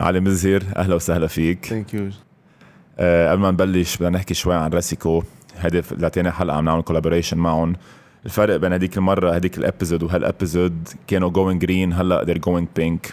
علي مزهر، أهلا وسهلا فيك. ثانك يو. قبل ما نبلش بدنا نحكي شوي عن راسيكو. هدف لتاني حلقة عم نعمل كولابوريشن معهم. الفرق بين هديك المرة هديك الابيزود وهالابيزود كانوا going green، هلا they're going pink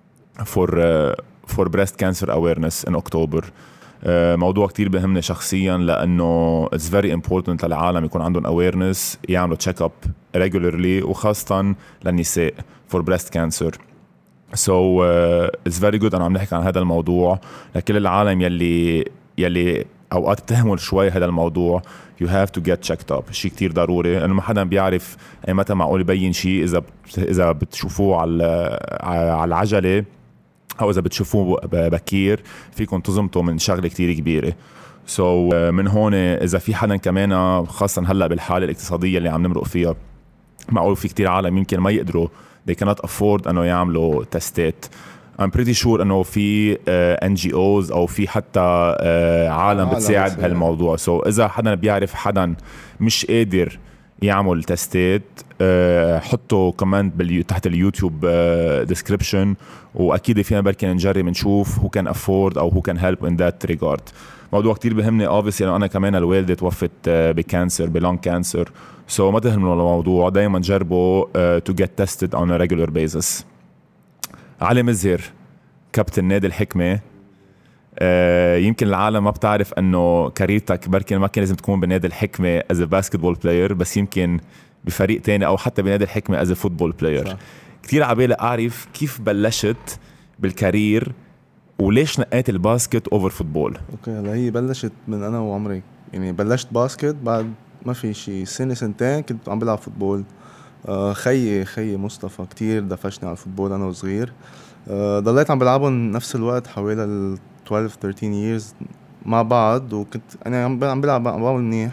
for breast cancer awareness in October. موضوع كتير بهمني شخصيا لأنه it's very important للعالم يكون عندهم awareness، يعملوا check up regularly وخاصة للنساء for breast cancer. So it's very good أنا عم نحكي عن هذا الموضوع لكل العالم يلي أوقات بتهمل شوي هذا الموضوع. you have to get checked up، شيء كتير ضروري لأنه ما حدا بيعرف أي متى معقول يبين شيء. إذا بتشوفوه على العجلة أو إذا بتشوفوه بكير فيكم تزمتوا من شغلة كتير كبيرة. so من هون إذا في حدا كمان خاصة هلأ بالحالة الاقتصادية اللي عم نمرق فيها، معقول في كتير عالم يمكن ما يقدروا they cannot afford أنه يعملوا تستات. I'm pretty sure أنه في NGOs أو في حتى عالم بتساعد بهالموضوع. so إذا حدا بيعرف حدا مش قادر يعمل تستات، حطوا كومنت تحت اليوتيوب description، وأكيد فينا بركي نجرب نشوف who can afford أو who can help in that regard. موضوع كتير بهمني obviously لأنه أنا كمان الوالدة توفت بكانسر بلون كانسر. so ما تهملوا الموضوع، دايما جربوا to get tested on a regular basis. علي مزهر كابتن نادي الحكمة. يمكن العالم ما بتعرف أنه كاريرتك بركي ما كان لازم تكون بنادي الحكمة as a basketball player، بس يمكن بفريق تاني أو حتى بنادي الحكمة as a football player. كتير عبالي أعرف كيف بلشت بالكارير وليش نقيت الباسكت أوفر فوتبول. اوكي، هلا هي بلشت من أنا وعمري، يعني بلشت باسكت بعد ما في شي سنة سنتين كنت عم بلعب فوتبول. خيي مصطفى كتير دفشني على الفوتبول أنا وصغير. ضليت عم بلعبهم نفس الوقت حوالي 12-13 years مع بعض، وكنت أنا عم بلعب بعمل منيح.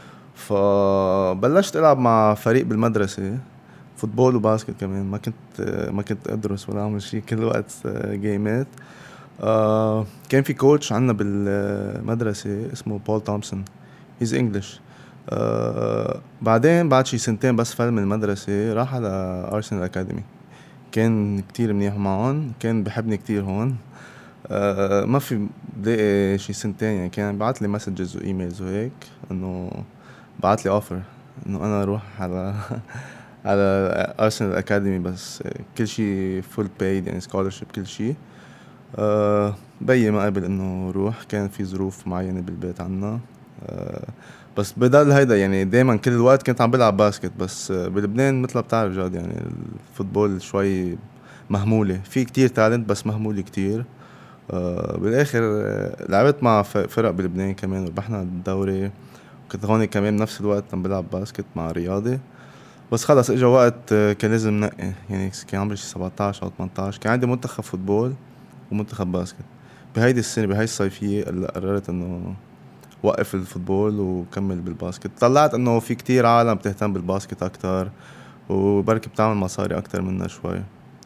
فبلشت ألعب مع فريق بالمدرسة فوتبول وباسكت كمان. ما كنت أدرس ولا أعمل شيء، كل وقت جيمات. كان في كوتش عنا بالمدرسة اسمه بول تومسون، he's English. بعدين بعد شي سنتين بس فل من المدرسة راح على أرسنال أكاديمي. كان كتير منيح معهم، كان بحبني كتير هون. ما في بلاقي شي سنتين يعني كان بعت لي مسجز وإيميلز وهيك إنه بعت لي أوفر إنه أنا أروح على أرسنال أكاديمي، بس كل شي فول بايد يعني scholarship كل شي. بيي ما قبل إنه روح، كان في ظروف معينة بالبيت عنا. بس بدل هيدا يعني دايما كل الوقت كنت عم بلعب باسكت. بس بلبنان مثل ما بتعرف جاد يعني الفوتبول شوي مهمولة، في كتير تالنت بس مهمولة كتير. بالاخر لعبت مع فرق بلبنان كمان وربحنا الدوري، وكنت هون كمان بنفس الوقت عم بلعب باسكت مع رياضي. بس خلص اجا وقت كان لازم نقي، يعني كان عمري 17 أو 18 كان عندي منتخب فوتبول ومنتخب باسكت. بهيدي السنة بهاي الصيفية قررت انه وقف الفوتبول وكمل بالباسكت. طلعت انه في كتير عالم بتهتم بالباسكت اكتر وبركي بتعمل مصاري اكتر منا شوي.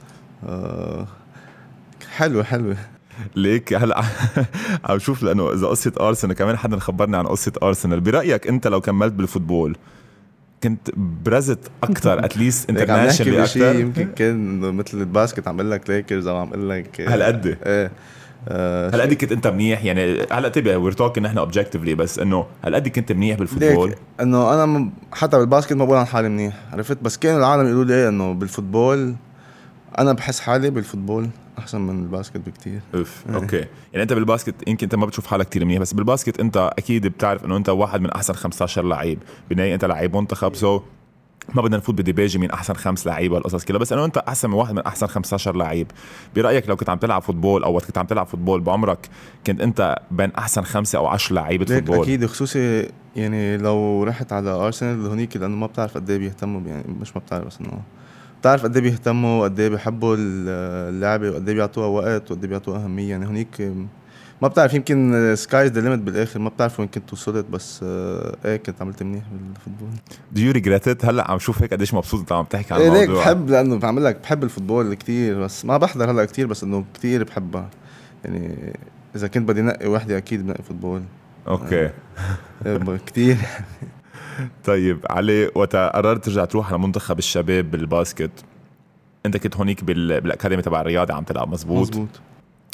حلوة ليك هلا عم شوف لانه اذا قصة ارسنال كمان حدا خبرني عن قصة ارسنال. برأيك انت لو كملت بالفوتبول كنت برزت اكتر اتليست انترناشونال اكتر؟ يمكن كان مثل الباسكت عم اقول لك ليكرز او عم اقول لك هالقد هالقد كنت انت منيح يعني. هلا تبع وير توكينج نحن اوبجكتيفلي، بس انه هالقد كنت منيح بالفوتبول. انه انا حتى بالباسكت ما بقول عن حالي منيح، عرفت؟ بس كانوا العالم يقولوا لي انه بالفوتبول انا بحس حالي بالفوتبول احسن من الباسكت بكتير. اوكي، يعني انت بالباسكت يمكن انت ما بتشوف حالك كتير منيح، بس بالباسكت انت اكيد بتعرف انه انت واحد من احسن 15 لعيب بالنهايه. انت لعيب منتخب، سو ما بدنا نفوت بديباجي من احسن 5 لعيبه والقصص كلها، بس انه انت احسن من واحد من احسن 15 لعيب. برايك لو كنت عم تلعب فوتبول او وقت كنت عم تلعب فوتبول بعمرك كنت انت بين احسن 5 أو 10 لعيبه فوتبول؟ اكيد، خصوصي يعني لو رحت على ارسنال هونيك، لانه ما بتعرف قد ايه بيهتموا، يعني مش ما بتعرف بس انه بتعرف قد ايه بيهتموا وقد ايه بيحبوا اللعبه وقد ايه بيعطوها وقت وقد ايه بيعطوها اهميه. يعني هونيك ما بتعرف، يمكن سكايز ذا ليميت بالاخر، ما بتعرف وين كنت وصلت. بس كنت عملت منيح بالفوتبول. Do you regret it؟ هلا عم شوف هيك قديش مبسوط انت عم تحكي عن الموضوع. ليك بحب، لانه بعمل لك بحب الفوتبول كتير، بس ما بحضر هلا كتير، بس انه كتير بحبها. يعني اذا كنت بدي نقي وحده اكيد بنقي فوتبول. اوكي كتير. طيب علي، وقت قررت ترجع تروح على منتخب الشباب بالباسكت، انت كنت هونيك بالاكاديمي تبع الرياضه عم تلعب؟ مزبوط.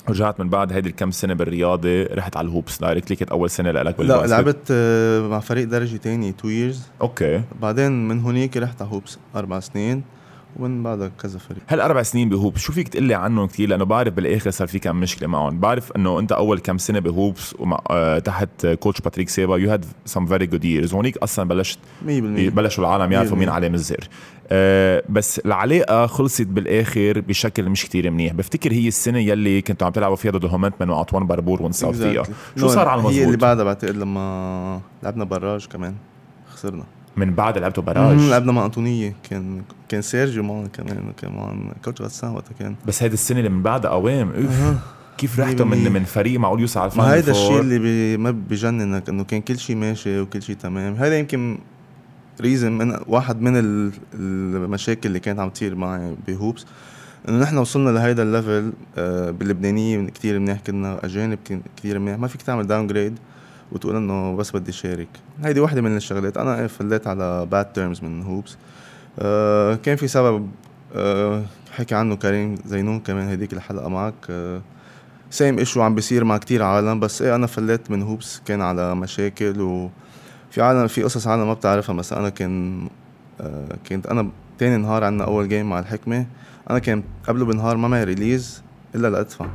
رجعت من بعد هيدي الكم سنة بالرياضة رحت على الهوبس دايركتلي، كانت أول سنة لك لا بالباسكت؟ لعبت مع فريق درجة تاني 2 years. أوكي. بعدين من هونيك رحت على هوبس 4 سنين، ومن بعدها كذا فريق. هل 4 سنين بهوبس شو فيك تقلي عنهم كتير؟ لأنه بعرف بالآخر صار في كم مشكلة معهم. بعرف أنه أنت أول كم سنة بهوبس ومع تحت كوتش باتريك سيبا you had some very good years. هونيك أصلا بلشوا العالم يعرفوا مين علي مزير. بس العلاقة خلصت بالآخر بشكل مش كتير منيح. بفتكر هي السنة يلي كنتوا عم تلعبوا فيها ضد هومنتمن وعطوان بربور ونصاب فيها. شو صار على المظبوط؟ هي اللي بعدها بعتقد لما لعبنا براج كمان خسرنا. من بعد لعبتوا براج؟ لعبنا مع أنطونية، كان سيرجيو معنا كمان كوتش غسان وقتها كان. بس هيدي السنة اللي من بعدها قوام كيف رحتوا من فريق معقول يوصل على الفاينل؟ ما هيدا الشيء اللي ما بيجننك، انه كان كل شيء ماشي وكل شيء تمام. هذا يمكن ريزن من واحد من المشاكل اللي كانت عم تصير معي بهوبس، انه نحن وصلنا لهيدا الليفل باللبنانية كتير منيح، كنا اجانب كتير منيح، ما فيك تعمل داون جريد وتقول انه بس بدي شارك. هيدي واحدة من الشغلات. انا فليت على باد تيرمز من هوبس. كان في سبب حكي عنه كريم زينون كمان هديك الحلقة معك. سيم ايشو عم بيصير مع كتير عالم، بس انا فليت من هوبس كان على مشاكل، وفي عالم في قصص عالم ما بتعرفها. بس انا كنت انا تاني نهار عنا اول جيم مع الحكمة، انا كان قبله بنهار ما معي ريليز الا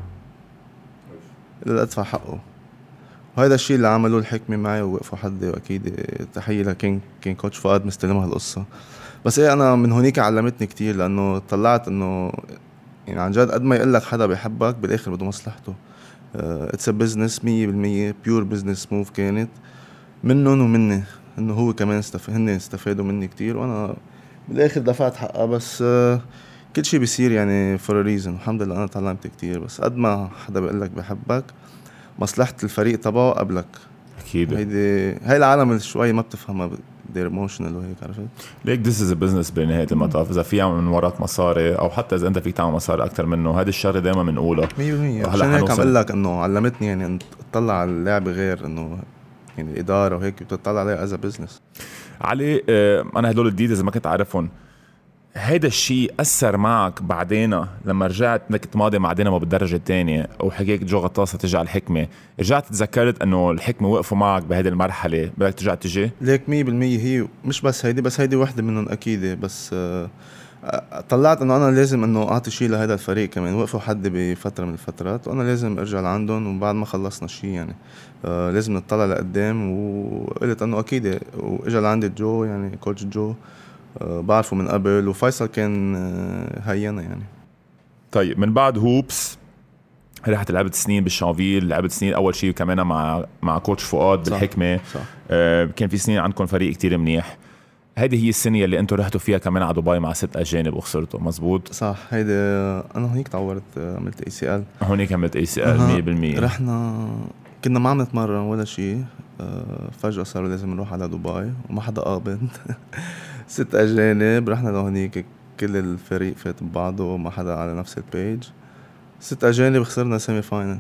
لادفع حقه. وهذا الشيء اللي عملوه الحكمة معي ووقفوا حدي، واكيد تحية لكان كوتش فؤاد مستلمها القصة. بس انا من هونيك علمتني كتير، لانه طلعت انه يعني عن جد قد ما يقول لك حدا بيحبك بالاخر بده مصلحته. اتس ا بزنس 100% بيور بزنس موف كانت منهم ومني، انه هو كمان هن استفادوا مني كتير، وانا بالاخر دفعت حقها. بس كل شيء بيصير يعني فور ريزن. الحمد لله انا تعلمت كتير. بس قد ما حدا بيقول لك بيحبك مصلحة الفريق تبعه قبلك. اكيد هاي العالم شوي ما بتفهمها they're emotional وهيك، عرفت ليك this is a business بنهاية المطاف. إذا في من وراك مصاري أو حتى إذا أنت فيك تعمل مصاري أكتر منه، هذه الشغلة دائما بنقولها 100%. عشان هيك عم أقول لك إنه علمتني يعني أن تطلع على اللعبة غير إنه يعني الإدارة وهيك بتطلع عليها as a business. علي أنا هدول الديتيلز ما كنت أعرفهم. هيدا الشيء أثر معك بعدين لما رجعت كنت ماضي مع دينامو بالدرجة الثانية وحكيك جو غطاسة تجي على الحكمة، رجعت تذكرت أنه الحكمة وقفوا معك بهذه المرحلة، بدك ترجع تجي؟ ليك 100% هي مش بس هيدي واحدة منهم أكيد. بس طلعت أنه أنا لازم أنه أعطي شيء لهذا الفريق كمان. وقفوا حد بفترة من الفترات وأنا لازم أرجع لعندهم، وبعد ما خلصنا شيء يعني لازم نطلع لقدام. وقلت أنه أكيد وإجا لعندي جو يعني كوتش جو بعرفه من قبل، وفيصل كان هينا يعني. طيب من بعد هوبس رحت لعبت سنين بالشانفيل، لعبت سنين أول شيء كمان مع كوتش فؤاد بالحكمة. صح. كان في سنين عندكم فريق كتير منيح. هذه هي السنة اللي انتوا رحتوا فيها كمان على دبي مع 6 أجانب وخسرتوا، مزبوط؟ صح. هيدا أنا هونيك تعورت، عملت ACL. هونيك عملت ACL 100%. رحنا كنا ما عم نتمرن ولا شيء، فجأة صاروا لازم نروح على دبي وما حدا قابل 6 أجانب. رحنا لهونيك كل الفريق فات ببعضه وما حدا على نفس البيج. 6 أجانب خسرنا سيمي فاينل.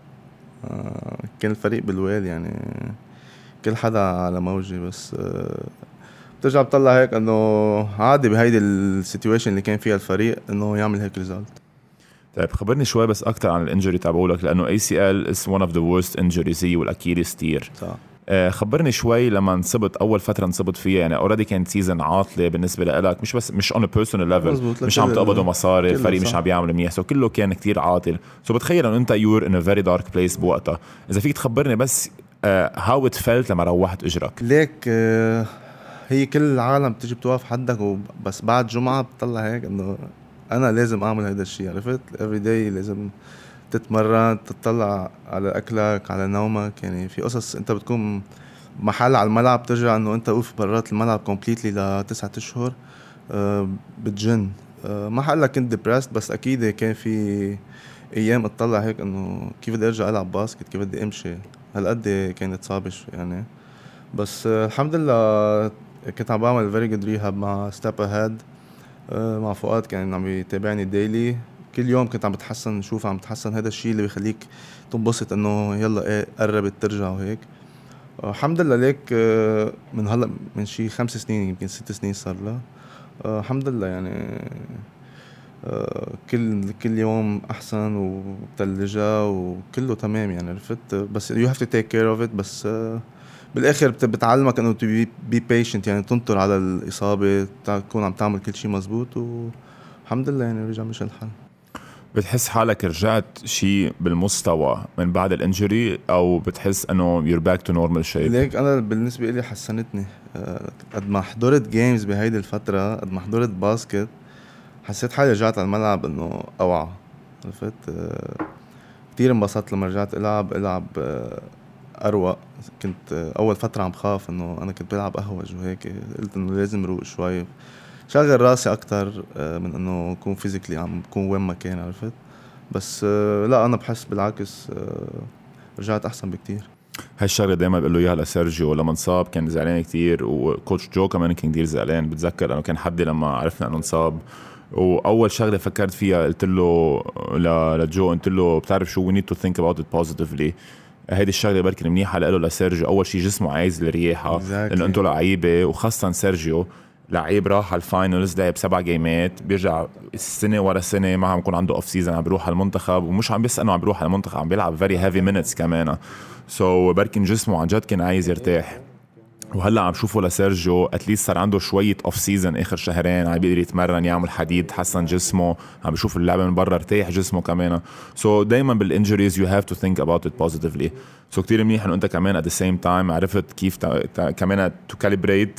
كان الفريق بالويل يعني كل حدا على موجي. بس بترجع بتطلع هيك انه عادي بهيدي السيتويشن اللي كان فيها الفريق انه يعمل هيك ريزالت. طيب خبرني شوي بس اكتر عن الانجري تبعولك، لانه ACL is one of the worst injuries هي والاكيليس تير. صح. خبرني شوي لما انصبت اول فتره انصبت فيها، يعني اوريدي كانت سيزن عاطله بالنسبه لك، مش on a personal level، مش عم تقبضوا مصاري، الفريق مش عم يعمل منيح، كله كان كتير عاطل. بتخيل انه انت you're in a very dark place بوقتها. اذا فيك تخبرني بس how it felt لما روحت اجرك. ليك هي كل العالم بتيجي بتوقف حدك، بس بعد جمعة بتطلع هيك انه انا لازم اعمل هيدا الشيء، عرفت؟ every day لازم تتمرن، تطلع على اكلك على نومك. يعني في قصص انت بتكون محل على الملعب ترجع انه انت اوف برات الملعب كومبليتلي ل9 أشهر بتجن. ما حقلك كنت ديبرست، بس اكيد كان في ايام اطلع هيك انه كيف بدي ارجع العب باسكت، كيف بدي امشي. هالقد كانت صعبة يعني. بس الحمد لله كنت عم بعمل very good rehab مع step ahead مع فؤاد، كان عم يتابعني ديلي. كل يوم كنت عم بتحسن، شوف عم بتحسن. هذا الشيء اللي بيخليك تنبسط انه يلا ايه قربت ترجع وهيك. الحمد لله. ليك من هلا من شي 5 سنين يمكن 6 سنين صار له. الحمد لله يعني كل يوم احسن وبتلجة وكله تمام يعني عرفت. بس you have to take care of it. بس بالاخر بتعلمك انه to be patient يعني تنطر على الاصابة تكون عم تعمل كل شيء مزبوط والحمد لله يعني رجع مش الحال. بتحس حالك رجعت شيء بالمستوى من بعد الانجري او بتحس انه you're back to normal shape؟ ليك انا بالنسبة لي حسنتني. قد ما حضرت جيمز بهيدي الفترة قد ما حضرت باسكت حسيت حالي رجعت على الملعب انه اوعى عرفت. كتير انبسطت لما رجعت العب اروق. كنت اول فترة عم خاف انه انا كنت بلعب اهوج وهيك قلت انه لازم روق شوي شغل راسي اكتر من انه اكون فيزيكلي عم بكون وين ما كان عرفت. بس لا انا بحس بالعكس رجعت احسن بكتير. هالشغله دائما بقول له اياها لسيرجيو لما انصاب كان زعلان كتير وكوتش جو كمان كان كتير زعلان. بتذكر انه كان حدي لما عرفنا انه انصاب واول شغله فكرت فيها قلت له لجو قلت له بتعرف شو we need to think about it positively. هيدي الشغله بركي منيحه له لسيرجيو. اول شيء جسمه عايز الرياحه لانه انتم لعيبه وخاصه سيرجيو لعيب راح على الفاينلز لعب 7 جيمات بيرجع السنه ورا سنه ما عم يكون عنده اوف سيزون عم بيروح على المنتخب ومش عم بس انه عم بيروح على المنتخب عم بيلعب فيري هيفي مينتس كمان. سو بركن جسمه عن جد كان عايز يرتاح. وهلا عم شوفه لسيرجيو اتليست صار عنده شويه اوف سيزون اخر شهرين عم بيقدر يتمرن يعمل حديد حسن جسمه عم بيشوف اللعبه من برا ارتاح جسمه كمان. سو دايما بالانجريز يو هاف تو ثينك اباوت ات بوزيتيفلي. سو كتير منيح انه انت كمان ات ذا سيم تايم عرفت كيف كمان تو كاليبريت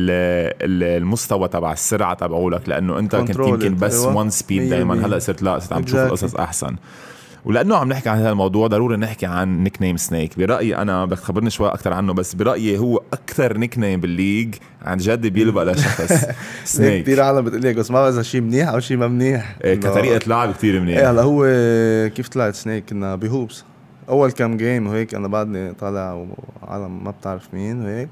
المستوى تبع السرعه تبعولك لانه انت كنت يمكن بس وان سبيد دايما هلا صرت عم تشوف القصص احسن. ولانه عم نحكي عن هذا الموضوع ضروري نحكي عن نيك نيم سنيك. برايي انا بدك تخبرني شوي اكثر عنه بس برايي هو اكثر نيك نيم بالليج عن جد بيلبق لشخص سنيك. كثير عالم بتقول لي بس ما اذا شيء منيح او شيء ما منيح كطريقه لعب كثير منيح. هلا هو كيف طلعت سنيك كنا بهوبس اول كم جيم وهيك انا بعدني طالع وعالم ما بتعرف مين وهيك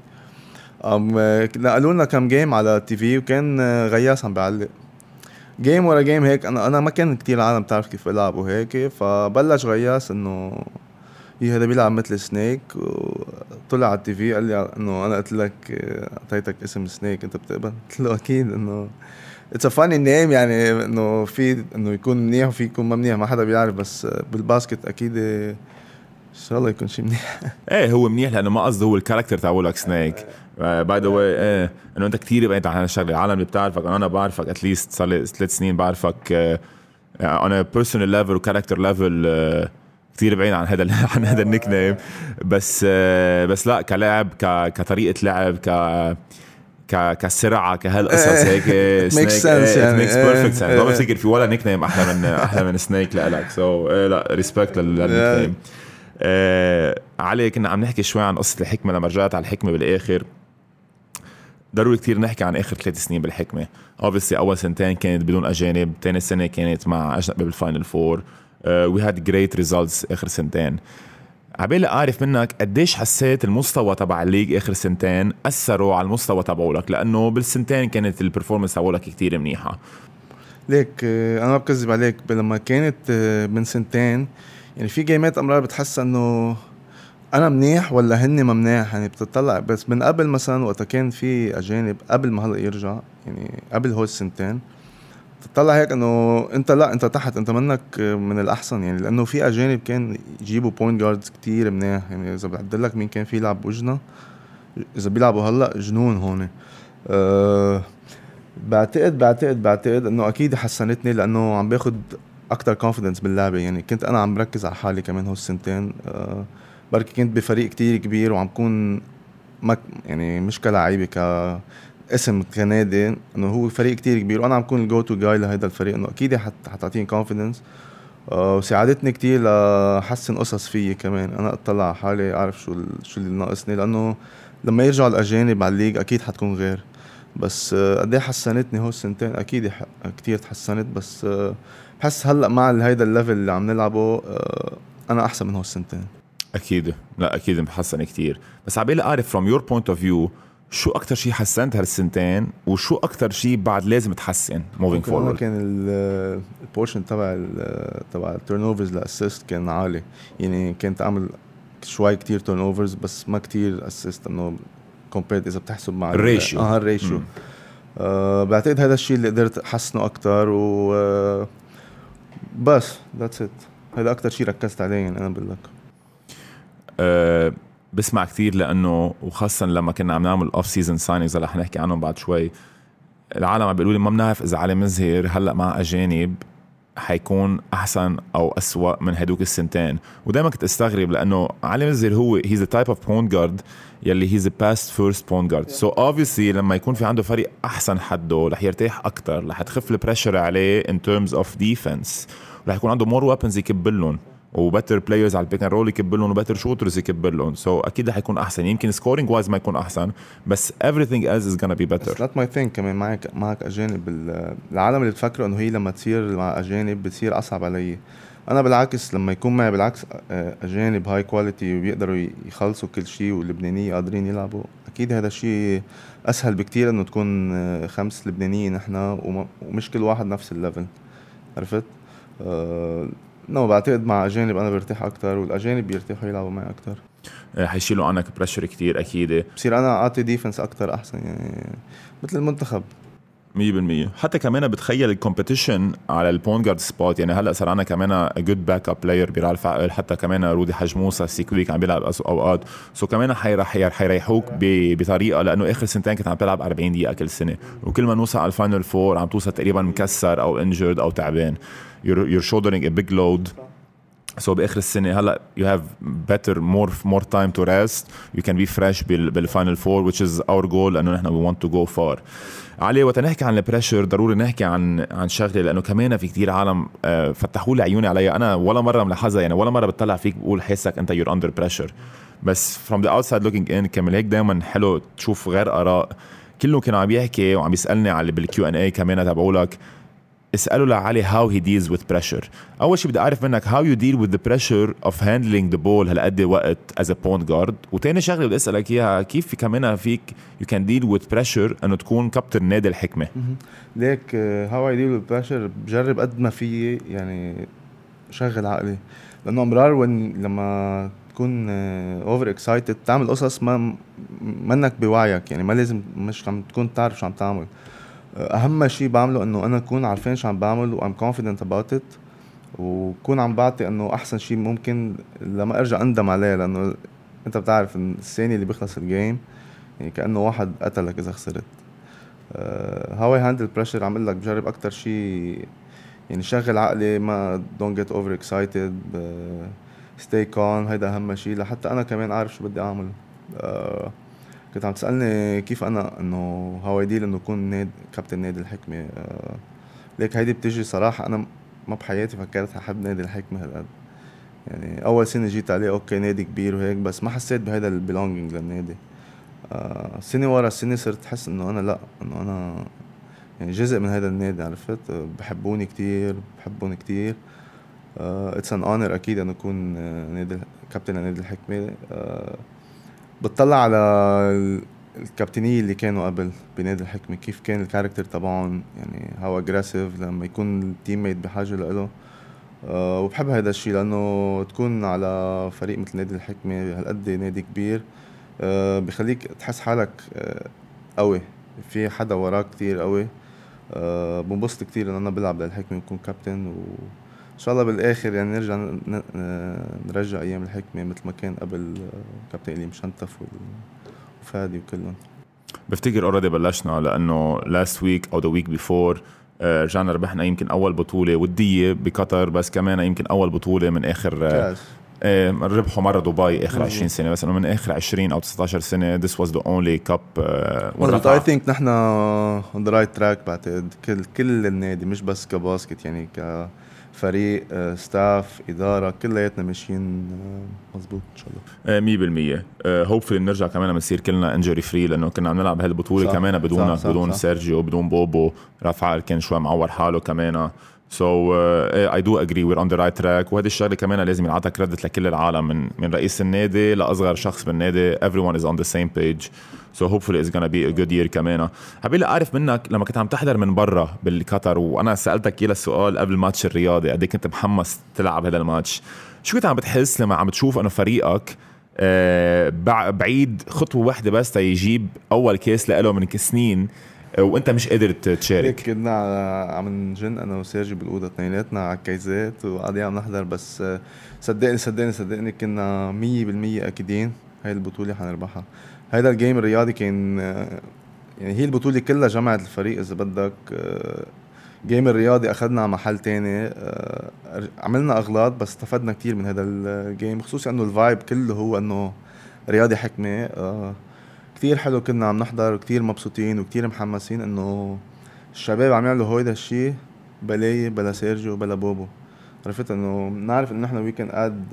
نقلوا لنا كم جيم على التي في وكان غياس عم بيعلق جيم ورا جيم هيك. انا ما كان كتير عالم تعرف كيف العب وهيك فبلش غياس انه هذا بيلعب مثل سنيك وطلع على التي في قال لي انه انا قلت لك اعطيتك اسم سنيك انت بتقبل؟ قلت له اكيد انه اتس ا فاني نيم يعني انه في انه يكون منيح وفي يكون ما منيح ما حدا بيعرف بس بالباسكت اكيد ان شاء الله يكون شيء منيح. ايه هو منيح لانه ما قصده هو الكاركتر تاعولك سنيك باي ذا واي. ايه انه انت كثير بعيد عن هالشغله. العالم اللي بتعرفك انا بعرفك اتليست صار لي 3 سنين بعرفك انا بيرسونال ليفل وكاركتر ليفل كثير بعيد عن هذا عن هذا النيك نيم. بس لا كلاعب كطريقه لعب كسرعه كهالقصص هيك سنيك يعني ميكس بيرفكت سنس. ما بفتكر في ولا نيك نيم احلى من سنيك لك. سو لا ريسبكت للنيك نيم. علي كنا عم نحكي شوي عن قصة الحكمة لما رجعت على الحكمة بالآخر. ضروري كتير نحكي عن آخر 3 سنين بالحكمة. obviously أول سنتين كانت بدون أجانب. تاني سنة كانت مع أجنبي بالفاينل فور. we had great results آخر سنتين. عبالي أعرف منك قديش حسيت المستوى تبع الليج آخر سنتين أثروا على المستوى تبعولك لأنه بالسنتين كانت البرفورمانس تبعولك كتير منيحة. ليك أنا ما بكذب عليك لما كانت من سنتين يعني في جيمات أمرار بتحس أنه أنا منيح ولا هني ما منيح يعني بتطلع. بس من قبل مثلا وقت كان في أجانب قبل ما هلأ يرجع يعني قبل هول السنتين تطلع هيك أنه أنت لا أنت تحت أنت منك من الأحسن يعني لأنه في أجانب كان يجيبوا بوينت جاردز كتير منيح يعني إذا بعدلك مين كان في يلعب بوجنا إذا بيلعبوا هلأ جنون هون. بعتقد أنه أكيد حسنتني لأنه عم باخد أكتر confidence باللعبة يعني كنت أنا عم بركز على حالي كمان هول السنتين. بركي كنت بفريق كتير كبير وعم كون يعني مش كلاعيبة كاسم كنادي انه هو فريق كتير كبير وانا عم كون الجو تو جاي لهيدا الفريق انه اكيد حتعطيني كونفيدنس. وساعدتني كتير لحسن قصص فيي كمان انا اطلع على حالي اعرف شو اللي ناقصني لانه لما يرجعوا الاجانب على الليج اكيد حتكون غير. بس قد ايه حسنتني هول السنتين اكيد كتير تحسنت. بس بحس هلا مع هيدا الليفل اللي عم نلعبه انا احسن من هول السنتين اكيد. لا اكيد محسن كتير. بس عبالي اعرف from your point of view شو اكتر شيء حسنت هالسنتين وشو اكتر شيء بعد لازم تحسن moving forward. كان البورشن تبع التيرن اوفرز لاسيست كان عالي يعني كنت اعمل شوي كتير تيرن اوفرز بس ما كتير اسيست انه كومبيرد اذا بتحسب مع الريشيو الريشيو. بعتقد هذا الشيء اللي قدرت احسنه اكتر و بس that's it. هذا اكتر شيء ركزت عليه يعني انا بقول لك. بسمع كتير لانه وخاصه لما كنا عم نعمل اوف سيزون ساينينجز اللي حنحكي عنهم بعد شوي، العالم عم بيقولوا لي ما بنعرف اذا علي مزهر هلا مع اجانب حيكون احسن او اسوأ من هدوك السنتين. ودائما كنت استغرب لانه علي مزهر هو he's the type of point guard يلي he's a past first point guard, so obviously لما يكون في عنده فريق احسن حده رح يرتاح اكتر, رح تخف البريشر عليه in terms of defense, رح يكون عنده more weapons يكبلهم وبتر بلايرز على البيك اند رول يكبلهم وبتر شوترز يكبلهم, سو اكيد رح يكون احسن. يمكن سكورينج وايز ما يكون احسن بس everything else is gonna be better. That's my thing. كمان معك اجانب. العالم اللي بتفكروا انه هي لما تصير مع اجانب بتصير اصعب علي, انا بالعكس لما يكون معي بالعكس اجانب هاي كواليتي وبيقدروا يخلصوا كل شيء واللبنانيين قادرين يلعبوا, اكيد هذا الشيء اسهل بكتير انه تكون 5 لبنانيين نحن ومش كل واحد نفس الليفل, عرفت؟ بعتقد مع اجانب انا برتاح اكتر والاجانب بيرتاحوا يلعبوا معي اكتر, حيشيلوا عنك بريشر كتير اكيد, بصير انا اعطي ديفنس اكتر احسن يعني مثل المنتخب 100%. حتى كمان بتخيل الكومبيتيشن على البوينت جارد سبوت, يعني هلا صار عنا كمان جود باك اب بلاير بيلعب فعال, حتى كمان رودي حج موسى سيكويك عم بيلعب اوقات, سو كمان حيريحوك بطريقه لانه اخر سنتين كنت عم تلعب 40 دقيقه كل سنه, وكل ما نوصل على الفاينل فور عم توصل تقريبا مكسر او انجرد او تعبان, you're shouldering a big load. So بآخر السنة هلا you have better more time to rest, you can be fresh بالفاينل فور which is our goal لأنه نحن we want to go far. علي وقت نحكي عن البريشر ضروري نحكي عن شغلة, لأنه كمان في كتير عالم فتحوا لي عيوني عليها, أنا ولا مرة ملاحظها يعني, ولا مرة بتطلع فيك بقول حسك أنت you're under pressure, بس from the outside looking in كمان هيك دايما حلو تشوف غير آراء. كله كان عم يحكي وعم يسألني على بالكيو&A كمان تبعولك, اسألوا لعلي how he deals with pressure. أول شيء بدي أعرف منك how you deal with the pressure of handling the ball هالقد وقت as a point guard, وتاني شغلة بدي أسألك إياها كيف كمان فيك you can deal with pressure أنه تكون كابتن نادي الحكمة. ليك how I deal with pressure بجرب قد ما في يعني شغل عقلي, لأنه أمرار لما تكون over excited تعمل قصص ما منك بوعيك, يعني ما لازم مش عم تكون تعرف شو عم تعمل. اهم شيء بعمله انه انا اكون عارفين شو عم بعمل و I'm confident about it, وكون عم بعطي انه احسن شيء ممكن لما ارجع اندم عليه, لانه انت بتعرف ان الثاني اللي بيخلص الجيم يعني كانه واحد قتلك اذا خسرت. how I handle pressure عم لك بجرب اكتر شيء يعني شغل عقلي, ما don't get over excited, stay calm, هيدا اهم شيء لحتى انا كمان عارف شو بدي اعمل. كنت عم تسألني كيف أنا إنه هوايديل إنه أكون كابتن نادي الحكمة. ليك هيدي بتجي صراحة أنا ما بحياتي فكرت أحب نادي الحكمة هالقد, يعني أول سنة جيت عليه أوكي نادي كبير وهيك, بس ما حسيت بهذا البيلونجينج للنادي. سنة ورا السنة صرت أحس إنه أنا لأ, إنه أنا يعني جزء من هذا النادي, عرفت؟ بحبوني كتير, بحبون كتير. it's an honor أكيد أن أكون نادي كابتن نادي الحكمة. بتطلع على الكابتنية اللي كانوا قبل بنادي الحكمة, كيف كان الكاركتر تبعهم, يعني هاو اجريسيف لما يكون التيم ميت بحاجة له. وبحب هذا الشيء لأنه تكون على فريق مثل نادي الحكمة هالقد نادي كبير, بيخليك تحس حالك قوي, في حدا وراك كتير قوي. بنبسط كتير إن أنا بلعب للحكمة وكون كابتن, وإن شاء الله بالآخر يعني نرجع أيام الحكمة مثل ما كان قبل كابتن إلي مشنتف وفادي وكلهم. بفتكر already بلشنا لأنه last week أو the week before رجعنا ربحنا يمكن أول بطولة ودية بقطر, بس كمان يمكن أول بطولة من آخر ربحوا مرة دبي آخر 20 سنة, بس إنه من آخر 20 أو 19 سنة this was the only cup. I think نحن on the right track بعتقد كل النادي, مش بس كباسكت يعني كفريق ستاف إدارة كلياتنا ماشيين مزبوط إن شاء الله 100%. hopefully نرجع كمان بنصير كلنا injury free, لأنه كنا عم نلعب هالبطولة كمان بدون سيرجيو بدون بوبو, رافعال كان شوي معور حاله كمان. So I do agree we're on the right track, وهذه الشغلة كمان لازم ينعطى كريدت لكل العالم من رئيس النادي لأصغر شخص بالنادي, everyone is on the same page, so hopefully it's gonna be a good year كمان. حبيت أعرف منك لما كنت عم تحضر من برا بالقطر, وأنا سألتك كلا السؤال قبل الماتش الرياضي قد كنت محمس تلعب هذا الماتش, شو كنت عم بتحس لما عم تشوف أنه فريقك بعيد خطوة واحدة بس تيجيب أول كيس لقاله من سنين وانت مش قادر تشارك. هيك كنا عم نجن انا وسيرجي بالاوضه اثنيناتنا على الكيزات وقاعدين عم نحضر، بس صدقني كنا 100% اكيدين هاي البطوله حنربحها. هيدا الجيم الرياضي كان يعني هي البطوله كلها جمعت الفريق اذا بدك. جيم الرياضي اخذنا محل تاني، عملنا اغلاط بس استفدنا كتير من هذا الجيم، خصوصا انه الفايب كله هو انه رياضي حكمه. كتير حلو، كنا عم نحضر وكتير مبسوطين وكتير محمسين انه الشباب عم يعملوا هيدا الشيء بلاي بلا سيرجيو بلا بوبو. عرفت انه نعرف انه نحن ويكند اد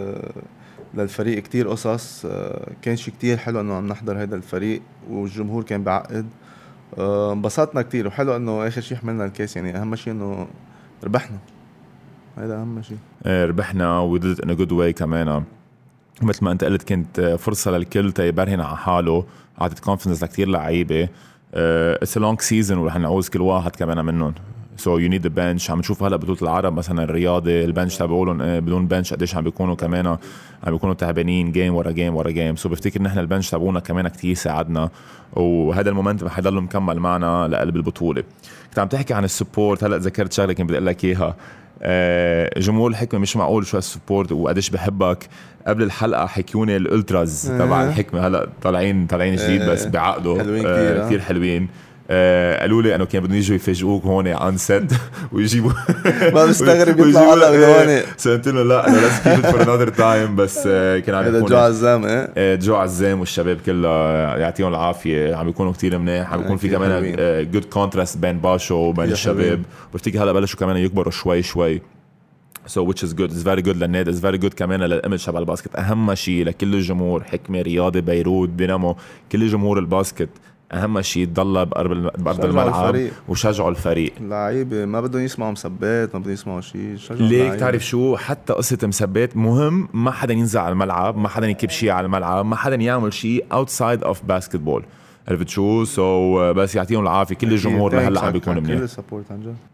للفريق كتير قصص. كان شيء كتير حلو انه عم نحضر هيدا الفريق والجمهور كان بعقد. انبسطنا كتير، وحلو انه اخر شيء حملنا الكاس. يعني اهم شيء انه ربحنا، هيدا اهم شيء. ربحنا وددت انه جود واي كمان. مثل ما انت قلت كانت فرصه للكل تيبرهن على حاله، اعطت كونفدنس لكتير لعيبه. اتس ا لونج سيزون ورح نعوز كل واحد كمان منهم. سو يو نيد ا بنش. عم نشوف هلا بطوله العرب مثلا الرياضي البنش تبعولهم بدون بنش قديش عم بيكونوا كمان عم بيكونوا تعبانين جيم ورا جيم ورا جيم. سو بفتكر نحن البنش تبعونا كمان كتير ساعدنا، وهذا المومنتم حيضل مكمل معنا لقلب البطوله. كنت عم تحكي عن السبورت، هلا ذكرت شغله كنت بدي اقول لك اياها. جمهور الحكمه مش معقول شو السبورت وقديش بحبك. قبل الحلقه حكيوني الالتراز تبع الحكمه، هلا طالعين جديد بس بعقده كثير حلوين. قالوا لي انه كان بدهم يجوا يفاجئوك هون عن سيت ويجيبوا ما بستغرب يطلع هلا من هون. سألت له لا انا let's keep it for another time. بس كان عم يكون جو عزام جو عزام والشباب كلها يعطيهم العافيه، عم بيكونوا كتير منيح. عم بيكون في كمان جود كونتراست بين باشو وبين الشباب. بفتكر هلا بلشوا كمان يكبروا شوي so which is good. It's very good للنادي. It's very good كمان للإيمج تبع الباسكت. أهم شيء لكل الجمهور حكمة رياضي بيروت دينامو كل جمهور الباسكت أهم شيء تضل بأرض الملعب وشجعوا الفريق. اللعيبة ما بدهم يسمعوا مسبات، ما بدهم يسمعوا شيء. ليك تعرف شو، حتى قصة مسبات مهم. ما حدا ينزع على الملعب، ما حدا يكب شيء على الملعب، ما حدا يعمل شيء outside of basketball. عرفت شو؟ بس يعطيهم العافية كل الجمهور لهلا عم بيكون منيح. كل سبورت عن جد.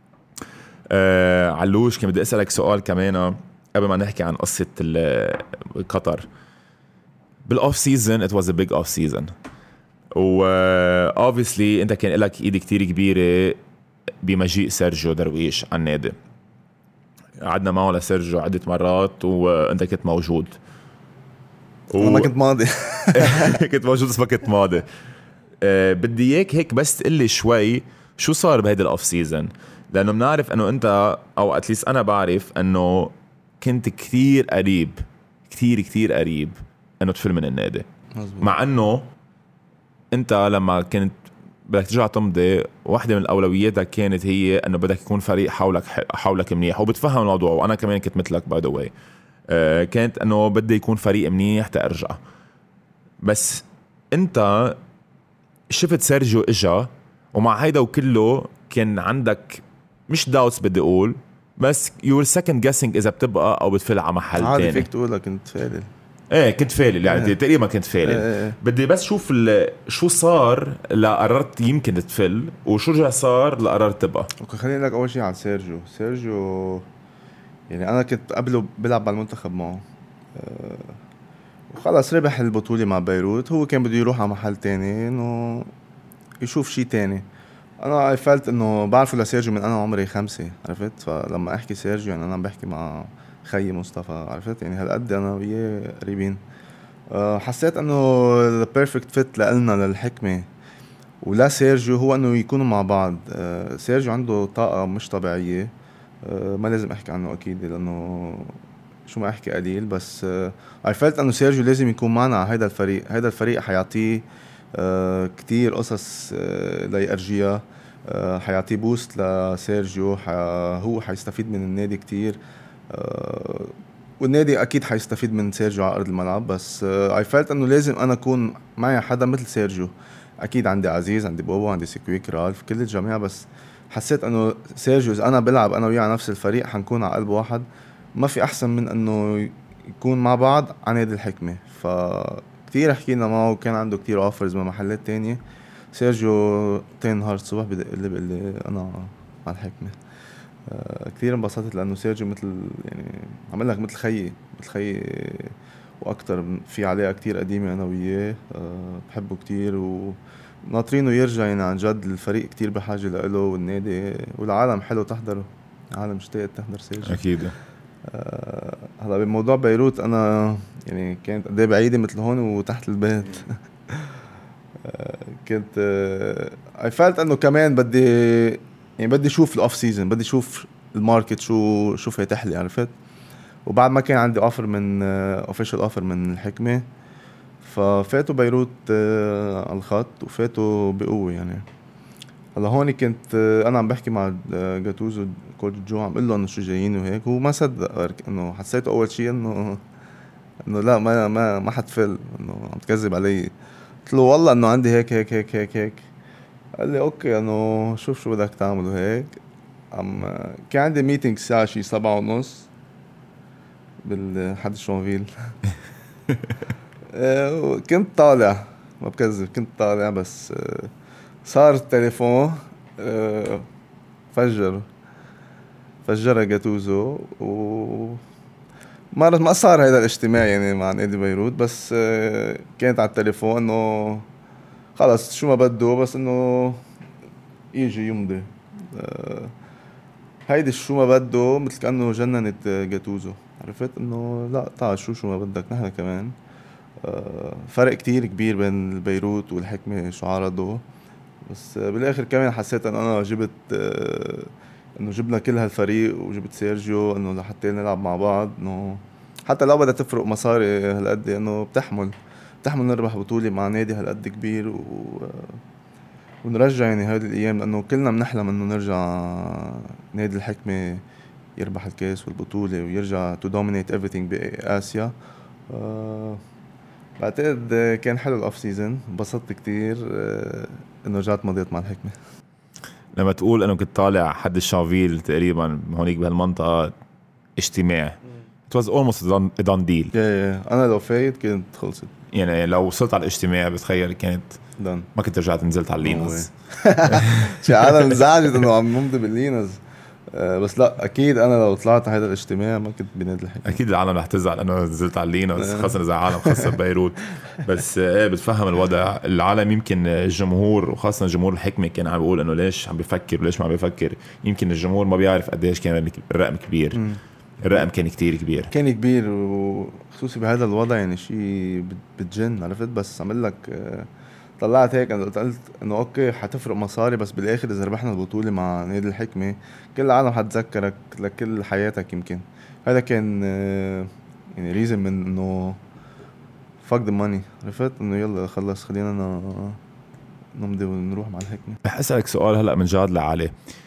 علوش كان بدي أسألك سؤال كمان قبل ما نحكي عن قصة قطر. بالأوف سيزن it was a big off season، و obviously انت كان لك ايد كتير كبيرة بمجيء سيرجيو درويش على النادي. قعدنا معه لسيرجيو عدة مرات وانت كنت موجود انا ما كنت ماضي كنت موجود بس ما كنت ماضي. بدي اياك هيك بس تقلي شوي شو صار بهيدا الأوف سيزن، لأنه بنعرف أنه أنت أو أتليس أنا بعرف أنه كنت كتير قريب كتير قريب أنه تفل من النادي. مزبوط. مع أنه أنت لما كنت بدك ترجع تمضي واحدة من الأولوياتك كانت هي أنه بدك يكون فريق حولك منيح، وبتفهم الموضوع. وأنا كمان كنت مثلك by the way. كانت أنه بدي يكون فريق منيح تأرجع. بس أنت شفت سيرجيو إجا ومع هيدا وكله كان عندك مش داوتس بدي اقول، بس you were second guessing اذا بتبقى او بتفل على محل تاني. عادي فيك تقول لك كنت فالل. كنت فالل يعني تقريبا كنت فالل. بدي بس شوف شو صار لقررت يمكن تفل، وشو رجع صار لقررت تبقى. اوكي خليني لك اول شيء عن سيرجيو يعني انا كنت قبله بلعب على المنتخب معه. وخلص ربح البطولة مع بيروت. هو كان بده يروح على محل تاني انه يشوف شيء تاني. انا فلت انه بعرفه لسيرجيو من انا عمري 5. عرفت؟ فلما احكي سيرجيو يعني انا عم بحكي مع خيي مصطفى. عرفت؟ يعني هالقد انا وياه قريبين. حسيت انه البيرفكت فيت لنا للحكمه ولا سيرجيو هو انه يكونوا مع بعض. سيرجيو عنده طاقه مش طبيعيه. ما لازم احكي عنه اكيد لانه شو ما احكي قليل، بس I felt انه سيرجيو لازم يكون معنا على هيدا الفريق حيعطيه كتير قصص ليأرجيها. حيعطيه بوست لسيرجيو. هو حيستفيد من النادي كتير. والنادي اكيد حيستفيد من سيرجيو على ارض الملعب. بس I felt انه لازم انا اكون معي حدا مثل سيرجيو. اكيد عندي عزيز، عندي بوبو، عندي سيكويك، رالف، كل الجميع. بس حسيت انه سيرجيو اذا انا بلعب انا وياه على نفس الفريق حنكون على قلب واحد. ما في احسن من انه يكون مع بعض على نادي الحكمه. كتير حكينا معه وكان عنده كتير اوفرز من محلات تانية. سيرجيو تاني نهار الصبح بدق لي بيقول لي انا مع الحكمه. كتير انبسطت لانه سيرجيو مثل يعني عمل لك مثل خيي واكتر. في علاقه كتير قديمه انا وياه. بحبه كتير ناطرينه يرجع يعني. عن جد الفريق كتير بحاجة له والنادي والعالم حلو تحضره. العالم اشتاقت تحضر سيرجيو اكيد. هلا بموضوع بيروت انا يعني كانت قد ايه بعيدة مثل هون وتحت البيت. كنت اي فالت انه كمان بدي اشوف الاوف سيزون، بدي اشوف الماركت شو فاتح لي، عرفت. وبعد ما كان عندي اوفر من اوفيشال اوفر من الحكمة، ففاتوا بيروت على الخط وفاتوا بقوة يعني. هلا هون كنت انا عم بحكي مع جاتوزو كوتش جو، عم قل له انه شو جايين وهيك. هو ما صدق انه حسيته اول شيء انه لا ما حتفل، انه عم تكذب علي. قلت له والله انه عندي هيك هيك هيك هيك هيك. قال لي اوكي انه شوف شو بدك تعمل وهيك. كان عندي ميتينج الساعة شي 7:30 بالحد شونفيل. كنت طالع، ما بكذب كنت طالع، بس صار التليفون فجر جاتوزو ما صار هذا الاجتماع يعني مع نادي بيروت. بس كانت على التليفون انه خلص شو ما بده، بس انه يجي يمضي. هيدي شو ما بده مثل كأنه جننت جاتوزو، عرفت انه لا تعال شو ما بدك نحن كمان. فرق كتير كبير بين البيروت والحكمة شو عرضوا. بس بالاخر كمان حسيت ان انا جبت انه جبنا كل هالفريق وجبت سيرجيو انه لحتى نلعب مع بعض. انه حتى لو بدها تفرق مصاري هالقد انه بتحمل نربح بطولة مع نادي هالقد كبير ونرجع يعني هذه الايام، لانه كلنا بنحلم انه نرجع نادي الحكمة يربح الكاس والبطولة ويرجع to dominate everything بآسيا. بعتقد كان حلو الاوف سيزون، انبسطت كتير انه رجعت مضيت مع الحكمة. لما تقول انه كنت طالع حد الشافيل تقريبا هونيك بهالمنطقة اجتماع it was almost a done deal. انا لو فايت كنت خلصت يعني لو وصلت على الاجتماع بتخيل كانت دان. ما كنت رجعت نزلت على اللينز. شي عالم انزعجت انه عم نمضي باللينز. بس لا اكيد انا لو طلعت على هذا الاجتماع ما كنت بنادي الحكمة. اكيد العالم رح تزعل انه نزلت على اللينز، خاصه اذا عالم خاصه ببيروت. بس ايه بتفهم الوضع. العالم يمكن الجمهور وخاصه جمهور الحكمة كان عم بيقول انه ليش عم بيفكر وليش ما عم بيفكر. يمكن الجمهور ما بيعرف قديش كان الرقم كبير. الرقم كان كتير كبير، كان كبير، وخصوصي بهذا الوضع يعني شيء بتجن، عرفت. بس عمل لك طلعت هيك انا قلت انه اوكي حتفرق مصاري، بس بالاخر اذا ربحنا البطولة مع نادي الحكمة كل العالم حتذكرك لكل حياتك. يمكن هذا كان يعني ريزن من انه fuck the money، عرفت انه يلا خلص خلينا نمضي ونروح مع الحكمة. رح اسألك سؤال هلا من جاد لعلي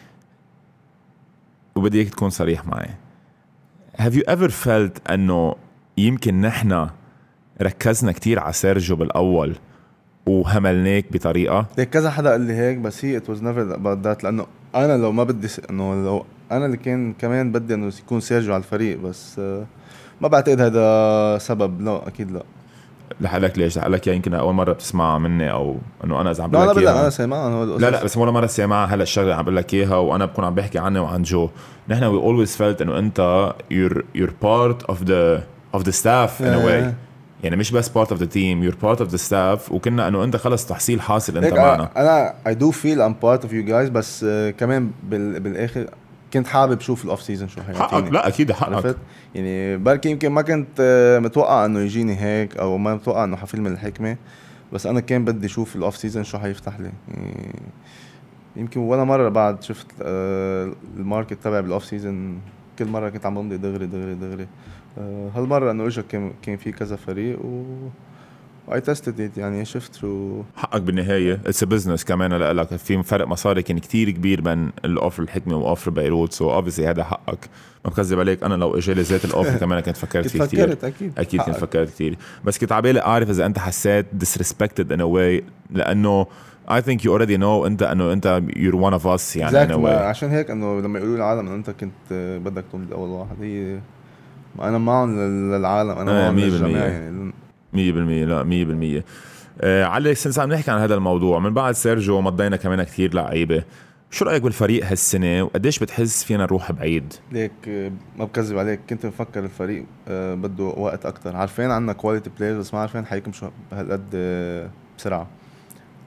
وبدي اياك تكون صريح معي. Have you ever felt انه يمكن نحنا ركزنا كتير على سيرجيو بالاول وهملناك بطريقة؟ ليك كذا حدا قال لي هيك، بس هي it was never about that. لانه انا لو ما بدي انه لو انا اللي كان كمان بدي انه يكون سيرجيو على الفريق، بس ما بعتقد هذا سبب. لا اكيد لا. لحالك ليش؟ لحالك يمكن اول مرة بتسمعها مني او انه انا اذا عم لا بقول لك انا سامعها. لا بس ولا مرة سامعها. هلا الشغلة عم بقول لك اياها وانا بكون عم بحكي عنه وعن جو. نحن we always felt انه انت you're part of the staff in a way. يعني مش بس part of the team, you're part of the staff. وكنا انه انت خلص تحصيل حاصل انت معنا. انا I do feel I'm part of you guys، بس كمان بالاخر كنت حابب شوف الاوف سيزون شو حيعطيني. حقك. لا اكيد حقك. يعني بركي يمكن ما كنت متوقع انه يجيني هيك، او ما متوقع انه حفيلم الحكمة، بس انا كان بدي اشوف الاوف سيزون شو حيفتح لي. يعني يمكن ولا مرة بعد شفت الماركت تبع بالاوف سيزون. كل مرة كنت عم بمضي دغري. هالمرة انه اجا كان في كذا فريق I tested it. يعني شفت شو حقك بالنهاية. it's a business كمان. لك في فرق مصاري كان كتير كبير بين الأوفر الحكمة وأوفر بيروت. so obviously هذا حقك، ما بكذب عليك. أنا لو إجالي ذات الأوفر كمان كنت فكرت فيه كتير. أكيد كنت فكرت كتير. بس كنت عبالي أعرف إذا أنت حسيت disrespected in a way، لأنه I think you already know أنت you're one of us يعني in a way. عشان هيك إنه لما يقولوا العالم إنه أنت كنت بدك تمضي أول واحد، هي أنا معهم للعالم، أنا معهم للجميع يعني 100%. لا 100%. علي سنس عم نحكي عن هذا الموضوع من بعد سيرجيو مضينا كمان كتير لعيبة. شو رأيك بالفريق هالسنة وقديش بتحس فينا نروح بعيد؟ ليك ما بكذب عليك، كنت مفكر الفريق بده وقت أكتر. عارفين عنا كواليتي بلايرز، بس ما عارفين حيكم شو هالقد بسرعة.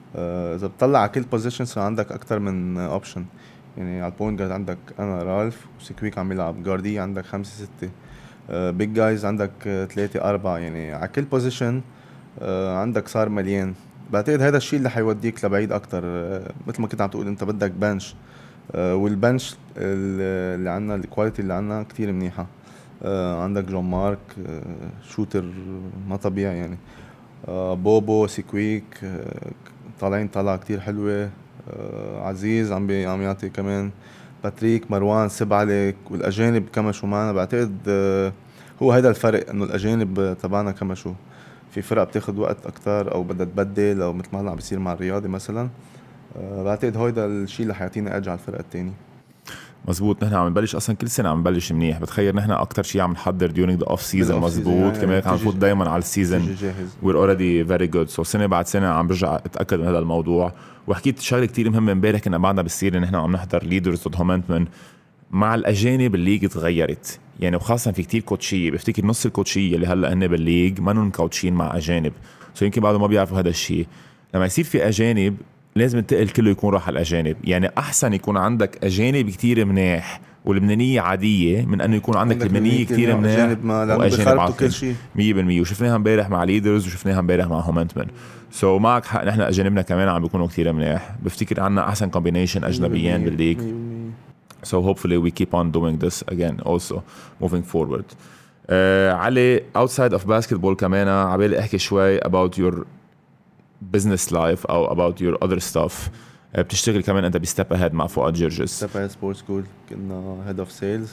اذا بتطلع على كل بوزيشن صار عندك اكتر من اوبشن. يعني على البوينت جارد عندك انا رالف وسكويك عم يلعب، جاردي عندك 5-6، بيج جايز عندك 3-4. يعني على كل بوزيشن عندك صار مليان. بعتقد هذا الشيء اللي حيوديك لبعيد اكتر. مثل ما كنت عم تقول انت بدك بنش، والبنش اللي عنا الكواليتي اللي عنا كتير منيحة. عندك جون مارك شوتر ما طبيعي يعني. بوبو سيكويك طالعين طلعة كتير حلوة. عزيز عم يعطي كمان. باتريك مروان سبعلك والأجانب كمشوا معنا. بعتقد هو هيدا الفرق، انه الأجانب تبعنا كمشوا. في فرق بتاخد وقت اكتر او بدها تبدل، او مثل ما هلا عم بيصير مع الرياضي مثلا. بعتقد هيدا الشيء اللي حيعطينا اجي على الفرق التاني. مزبوط. نحن عم نبلش اصلا كل سنه عم نبلش منيح. بتخيل نحن اكتر شيء عم نحضر during the off season. مزبوط. كمان عم نفوت دائما على السيزون we're already very good. so سنه بعد سنه عم برجع اتاكد من هذا الموضوع. وحكيت شغله كتير مهمه امبارح كنا بعدنا بالسيره، نحن عم نحضر ليدرز ضد هومنتمن. مع الاجانب الليج تغيرت يعني، وخاصه في كتير كوتشيه. بفتكر نص الكوتشيه اللي هلا هن بالليج ما نون كوتشين مع اجانب، سو يمكن بعضهم ما بيعرفوا هذا الشيء. لما يصير في اجانب لازم التقل كله يكون راح على الأجانب. يعني أحسن يكون عندك أجانب كتير منيح واللبنانية عادية من أنه يكون عندك لبنانية كتير منيح وأجانب عاطل 100%. وشفناها امبارح مع ليدرز وشفناها امبارح مع هومنتمن. سو معك حق، نحن أجانبنا كمان عم بيكونوا كتير منيح. بفتكر عنا أحسن كومبينيشن أجنبيين بالليج. So hopefully we keep on doing this again also moving forward. علي outside of basketball كمان عبالي أحكي شوي about your business life أو about your other stuff. بتشتغل كمان أنت بستيب أهيد مع فؤاد جرجس. ستيب أهيد سبورت سكول كنا هيد اوف سيلز.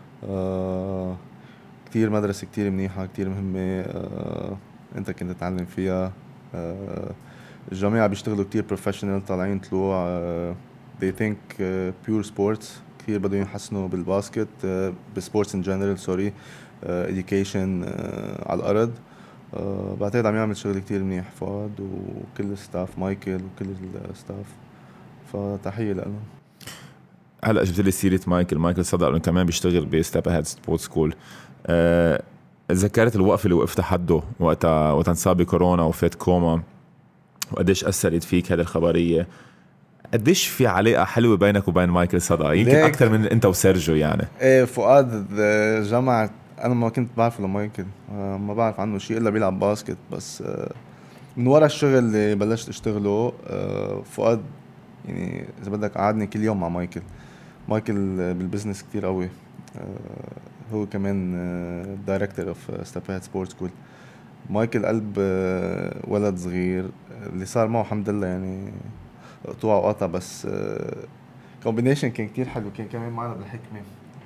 كتير مدرسة كتير منيحة كتير مهمة. أنت كنت تتعلم فيها. الجماعة بيشتغلوا كتير بروفيشنال طالعين طلوع. they think pure sports. كتير بدهم يحسنوا بالباسكت بسبورتس in general sorry education على الأرض. بعتقد عم يعمل شغل كتير منيح فؤاد وكل الستاف مايكل وكل الستاف، فتحية لهم. هلا جبت لي سيرة مايكل صدق انه كمان بيشتغل بستيب أهيد سبورت سكول. تذكرت الوقفة اللي وقفت حده وقتها انصاب بكورونا وفات كوما، وقديش أثرت فيك هذه الخبرية. قديش في علاقة حلوة بينك وبين مايكل صدق، يمكن أكثر من أنت وسيرجيو يعني. إيه فؤاد جمع. أنا ما كنت بعرف لمايكل، ما بعرف عنه شيء إلا بيلعب باسكت بس. من ورا الشغل اللي بلشت اشتغله فؤاد يعني إذا بدك قعدني كل يوم مع مايكل بالبزنس كتير قوي. هو كمان دايركتور اوف ستيب أهيد سبورت سكول. مايكل قلب ولد صغير اللي صار معه الحمد لله يعني قطوع وقطع، بس كومبينيشن كان كتير حلو. كان كمان معنا بالحكمة.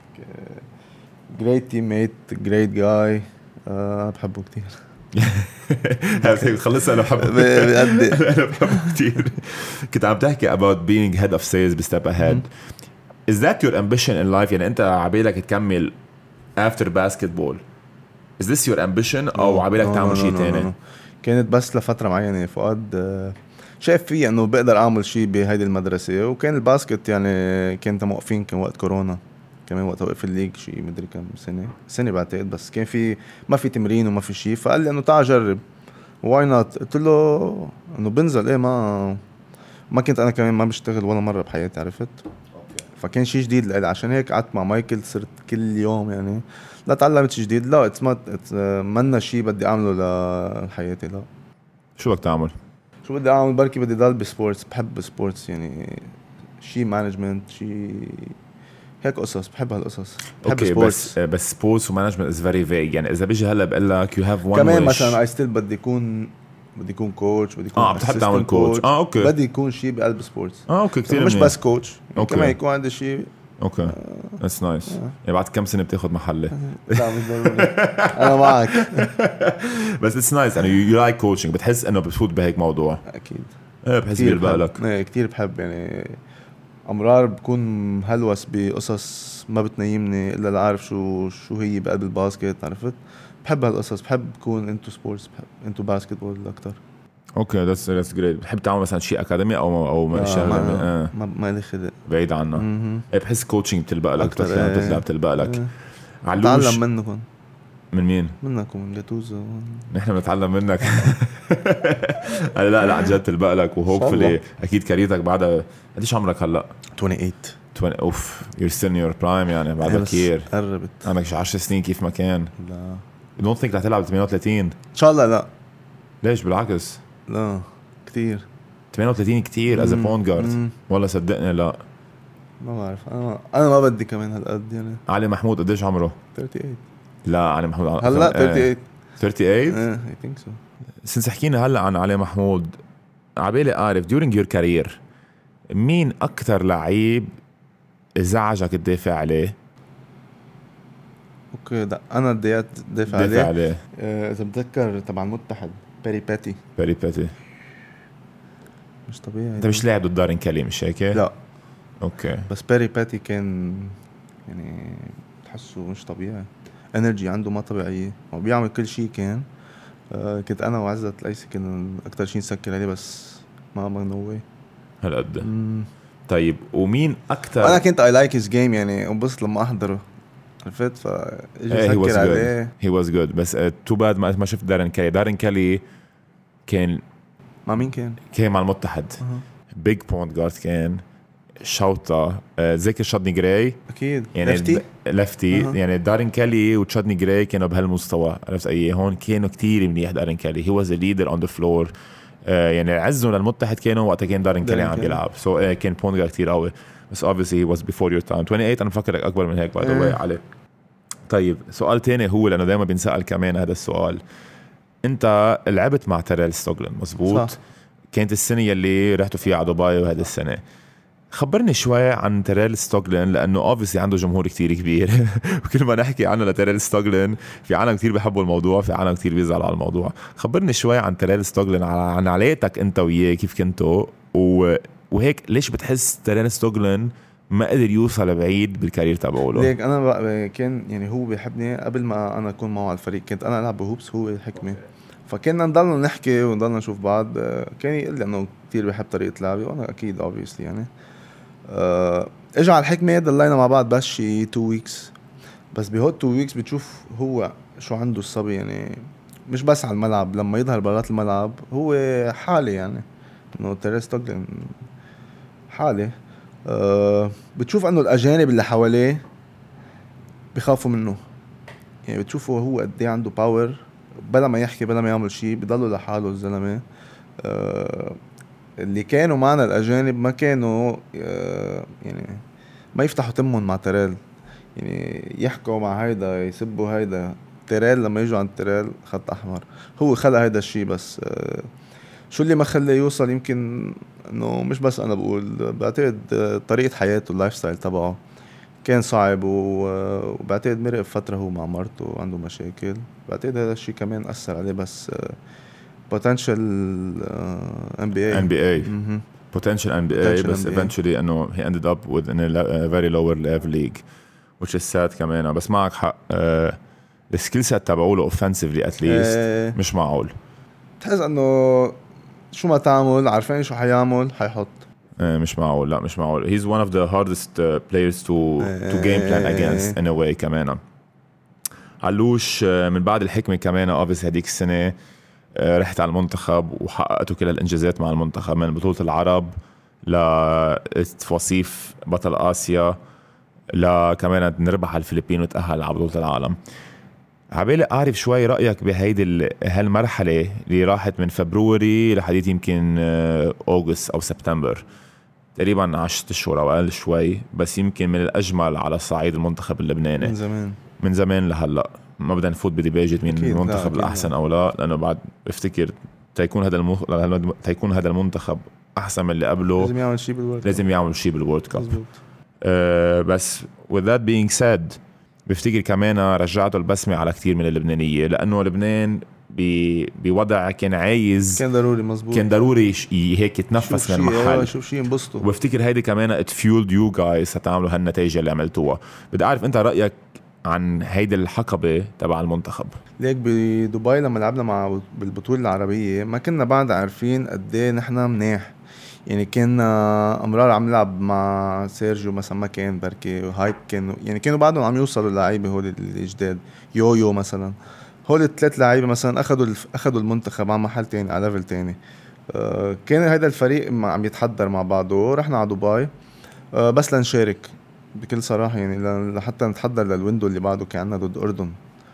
great teammate great guy. بحبه كتير. خلصنا. أنا بحبه كتير. كنت عم تحكي about being head of sales بستيب أهيد. is that your ambition in life؟ يعني أنت عبالك تكمل after basketball. is this your ambition أو عبالك تعمل شيء تاني؟ كانت بس لفترة معينة. فؤاد شايف فيه انه بقدر اعمل شيء بهيدي المدرسة، وكان الباسكت يعني كنت موقفين. كان وقت كورونا كمان، وقت وقف الليج شيء مدري كم سنة بعتقد، بس كان في ما في تمرين وما في شيء. فقال لي انه تعال جرب واي نوت. قلت له انه بنزل. ايه ما كنت انا كمان ما بشتغل ولا مرة بحياتي عرفت. فكان شيء جديد لي، عشان هيك قعدت مع مايكل صرت كل يوم يعني لا تعلمت شيء جديد. لا منا شيء بدي اعمله لحياتي. لا شو بدك تعمل؟ شو بدي اعمل؟ بركي بدي ضل بسبورتس. بحب سبورتس يعني شيء مانجمنت شيء هيك قصص. بحب هالقصص. بحب سبورتس. بس سبورتس ومانجمنت از فيري فيج. يعني اذا بيجي هلا بقول لك يو هاف وان كمان مثلا اي ستيل بدي يكون كوتش. بدي يكون بتحب تعمل كوتش. اوكي. بدي يكون شيء بقلب سبورتس. اوكي كثير مش بس كوتش يعني كمان يكون عندي شيء. اوكي ذاتس نايس. يعني بعد كم سنه بتاخذ محله؟ لا مش ضروري. انا معك. بس اتس نايس. يعني يو لايك كوتشنج. بتحس انه بتفوت بهيك موضوع؟ اكيد. بحس بيلبق لك. كثير بحب يعني. امرار بكون هلوس بقصص ما بتنيمني الا لاعرف شو هي بقلب الباسكت عرفت. بحب هالقصص. بحب كون انتو سبورتس. بحب انتو باسكتبول اكثر. اوكي ذاتس جريت. بتحب تعمل مثلا شيء اكاديمي او شغله ما لي خلق بعيد عنه. بحس كوتشنج بتلبق لك. بتلعب بتلبق لك. تعلم منكم. من مين؟ منك ومن جاتوزو. نحن بنتعلم منك. لا عن جد تلبق لك وهوبفلي اكيد كاريرتك بعدها. قديش عمرك هلا؟ 28. اوف you're still in your prime يعني بعد كثير قربت. عندك شي 10 سنين كيف ما كان. لا you don't think رح تلعب 38 ان شاء الله. لا ليش؟ بالعكس لا كتير 38 كتير as a point guard. والله صدقني لا ما بعرف. انا ما بدي كمان هالقد يعني. علي محمود قديش عمره؟ 38. لا علي محمود هلا 38. 38 I think so. سنس حكينا هلا عن علي محمود عبالي أعرف during your career مين أكتر لعيب ازعجك تدافع عليه؟ اوكي ده انا بديت دافع عليه. اذا بتذكر تبع المتحد بيري باتي مش طبيعي. انت مش لاعب ضد دارين كالي مش هيك؟ لا اوكي. بس بيري باتي كان يعني تحسه مش طبيعي. انرجي عنده ما طبيعيه وبيعمل كل شيء. كان كنت انا وعزت الأيسي كنا اكتر شيء نسكر عليه بس ما نوي هالقد. طيب ومين اكتر؟ انا كنت اي لايك هيز جيم يعني انبسط لما احضره عرفت. فاجي اسكر عليه. هي واز جود بس تو باد ما شفت دارين كالي كان مع مين كان مع المتحد. بيج بوينت جارد كان شوطة ذكر شادني جراي اكيد يعني لفتي يعني دارين كالي وتشادني جراي كانوا بهالمستوى عرفت اي. هون كانوا كتير منيح دارين كالي. هي واز ا ليدر اون ذا فلور. يعني عزوا للمتحد كانوا وقتها كان دارين كالي عم يلعب. سو كان بوينت جارد كتير قوي بس obviously he was before your time. 28 انا مفكرك اكبر من هيك by the way علي. طيب سؤال تاني هو لانه دائما بنسأل كمان هذا السؤال. انت لعبت مع تيريل ستوغلن مزبوط؟ صح. كانت السنة يلي رحتوا فيها على دبي وهذه السنة. خبرني شوي عن تيريل ستوغلن لأنه obviously عنده جمهور كتير كبير. وكل ما نحكي عنه لتيريل ستوغلن في عالم كتير بيحبوا الموضوع في عالم كتير بيزعلوا على الموضوع. خبرني شوي عن تيريل ستوغلن عن علاقتك انت وياه كيف كنتوا وهيك ليش بتحس تيريل ستوغلن ما قدر يوصل بعيد بالكارير تبعه؟ ليك انا كان يعني هو بيحبني قبل ما انا اكون معه على الفريق. كنت انا العب بهوبس هو يحكمي فكنا نضلنا نحكي ونضلنا نشوف بعض. كان يقول لي انه كتير بيحب طريقه لعبي وانا اكيد obviously يعني. اجى على الحكمه ضلينا مع بعض بس شي 2 weeks. بس بهول 2 weeks بتشوف هو شو عنده الصبي يعني. مش بس على الملعب لما يظهر برات الملعب هو حالي يعني انه تيريل ستوغلن حالي. بتشوف انه الاجانب اللي حواليه بيخافوا منه يعني. بتشوفه هو قد ايه عنده باور بلا ما يحكي بلا ما يعمل شيء بيضلوا لحاله الزلمه. اللي كانوا معنا الاجانب ما كانوا يعني ما يفتحوا تمهم مع تيريل يعني. يحكوا مع هيدا يسبوا هيدا. تيريل لما يجوا عند تيريل خط احمر. هو خلق هيدا الشيء بس شو اللي ما خليه يوصل يمكن انه مش بس انا بقول بعتقد طريقه حياته اللايف ستايل تبعه كان صعب وبعتقد مرق فتره هو مع مرته عنده مشاكل. بعتقد هذا الشيء كمان اثر عليه بس potential NBA potential NBA بس eventually انه he ended up with a very lower level league which is sad كمان. بس معك حق السكيل سيت تبعوله offensively at least مش معقول. تحس انه شو ما تعمل عارفين شو حيعمل حيحط. مش معقول. لا مش معقول. he's one of the hardest players to game plan against in a way كمان. علوش من بعد الحكمة كمان obviously هديك السنة رحت على المنتخب وحققتوا كل الانجازات مع المنتخب من بطولة العرب لوصيف بطل آسيا لكمان نربح على الفلبين وتأهل على بطولة العالم. عبالي أعرف شوي رأيك بهيدي هالمرحلة اللي راحت من فبراير لحديث يمكن أغسطس أو سبتمبر تقريبا 10 أشهر أو أقل شوي بس يمكن من الأجمل على صعيد المنتخب اللبناني من زمان لهلأ. ما بدنا نفوت بديباجة مين المنتخب الأحسن أو لا لأنه بعد افتكر تيكون هذا المنتخب أحسن من اللي قبله لازم يعمل شيء بالورد كاب. بس with that being said بفتكر كمان رجعته البسمة على كتير من اللبنانية لأنه لبنان بوضع كان عايز كان ضروري مزبوط كان ضروري هيك يتنفس من المحل شوف شيء ينبسطوا. وبفتكر هيدي كمان it fueled you guys ستعملوا هالنتائج اللي عملتوها. بدي أعرف أنت رأيك عن هيدي الحقبة تبع المنتخب. ليك بدبي لما لعبنا مع بالبطولة العربية ما كنا بعد عارفين قد ايه نحن منيح يعني كنا امرار عم نلعب مع سيرجيو مثلا، ما كان بركي وهايب كانوا يعني كانوا بعدهم عم يوصلوا اللعيبه هول الجداد. يويو مثلا، هول الثلاث لعيبه مثلا اخذوا المنتخب على محل تاني، على ليفل تاني. كان هذا الفريق عم يتحضر مع بعضه. رحنا على دبي بس لنشارك بكل صراحة، يعني لحتى نتحضر للويندو اللي بعده كان عنا ضد أردن.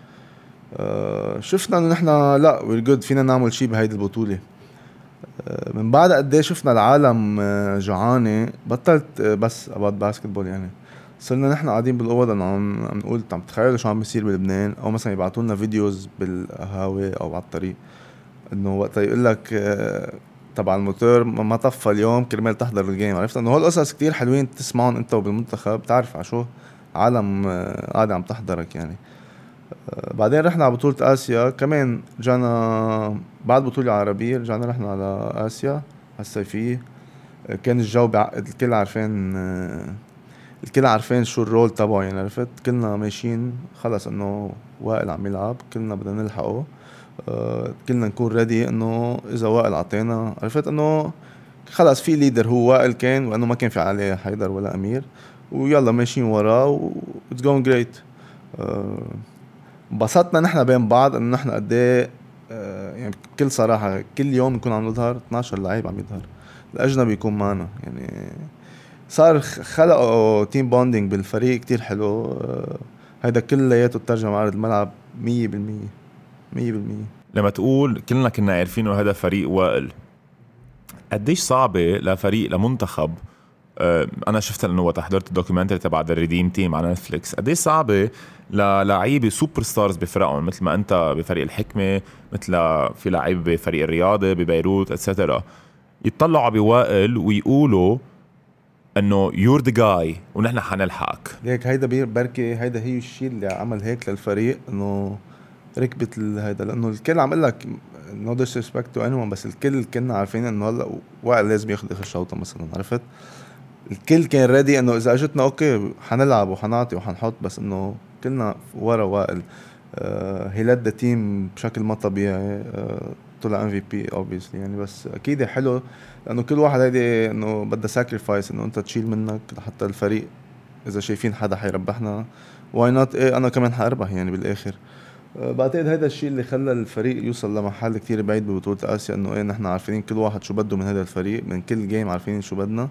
شفنا انه نحنا لا وير جود، فينا نعمل شيء بهيدي البطولة. من بعد قد ايه شفنا العالم جوعانة، بطلت بس ابعد باسكتبول يعني. صرنا نحن قاعدين بالاوض عم نقول عم تخيلوا شو عم بيصير بلبنان، او مثلا يبعثوا لنا فيديوز بالقهاوي او على الطريق، انه وقت يقول لك تبع الموتور ما طفى اليوم كرمال تحضر الجيم. عرفت انه هول القصص كتير حلوين تسمعهم انت وبالمنتخب، بتعرف على شو عالم قاعدة عم تحضرك يعني. بعدين رحنا على بطولة آسيا كمان، رجعنا بعد بطولة عربية، رجعنا رحنا على آسيا الصيفية. كان الجو بعقد، الكل عارفين شو الرول تبعه يعني. عرفت كلنا ماشيين خلص انه وائل عم يلعب، كلنا بدنا نلحقه. كلنا نكون ريدي انه اذا وائل عطينا، عرفت انه خلص في ليدر هو وائل كان، وانه ما كان في عليه حيدر ولا امير، ويلا ماشيين وراه و it's going great. انبسطنا نحن بين بعض انه نحن قد ايه يعني بكل صراحه كل يوم نكون عم نظهر 12 لعيب عم يظهر، الاجنبي يكون معنا يعني. صار خلقوا تيم بوندينج بالفريق كتير حلو. هيدا كلياته ترجم على ارض الملعب 100%. 100%. لما تقول كلنا كنا عارفين انه هذا فريق وائل، قديش صعبة لفريق لمنتخب؟ انا شفت انه وقت حضرت الدوكيومنتري تبع ذا ريديم تيم على نتفليكس، قديش صعبة للعيبة سوبر ستارز بفرقهم مثل ما انت بفريق الحكمة، مثل في لعيبة بفريق الرياضة ببيروت اتسترا، يطلعوا بوائل ويقولوا انه يور ذا جاي ونحن حنلحقك. ليك هيدا بركي هيدا هي الشيء اللي عمل هيك للفريق، انه ركبت هيدا، لانه الكل عم يقول لك no disrespect to anyone، بس الكل كنا عارفين انه هلا وائل لازم ياخذ اخر شوطه مثلا. عرفت الكل كان ريدي انه اذا اجتنا اوكي حنلعب وحنعطي وحنحط، بس انه كلنا ورا وائل. هي لد تيم بشكل ما طبيعي. طلع MVP obviously يعني. بس اكيد حلو لانه كل واحد هيدي انه بدها sacrifice، انه انت تشيل منك لحتى الفريق اذا شايفين حدا حيربحنا واي نوت، ايه انا كمان حاربح يعني بالاخر. بعتقد هيدا الشيء اللي خلى الفريق يوصل لمحل كتير بعيد ببطولة آسيا، انه ايه نحن عارفين كل واحد شو بده من هذا الفريق، من كل جيم عارفين شو بدنا.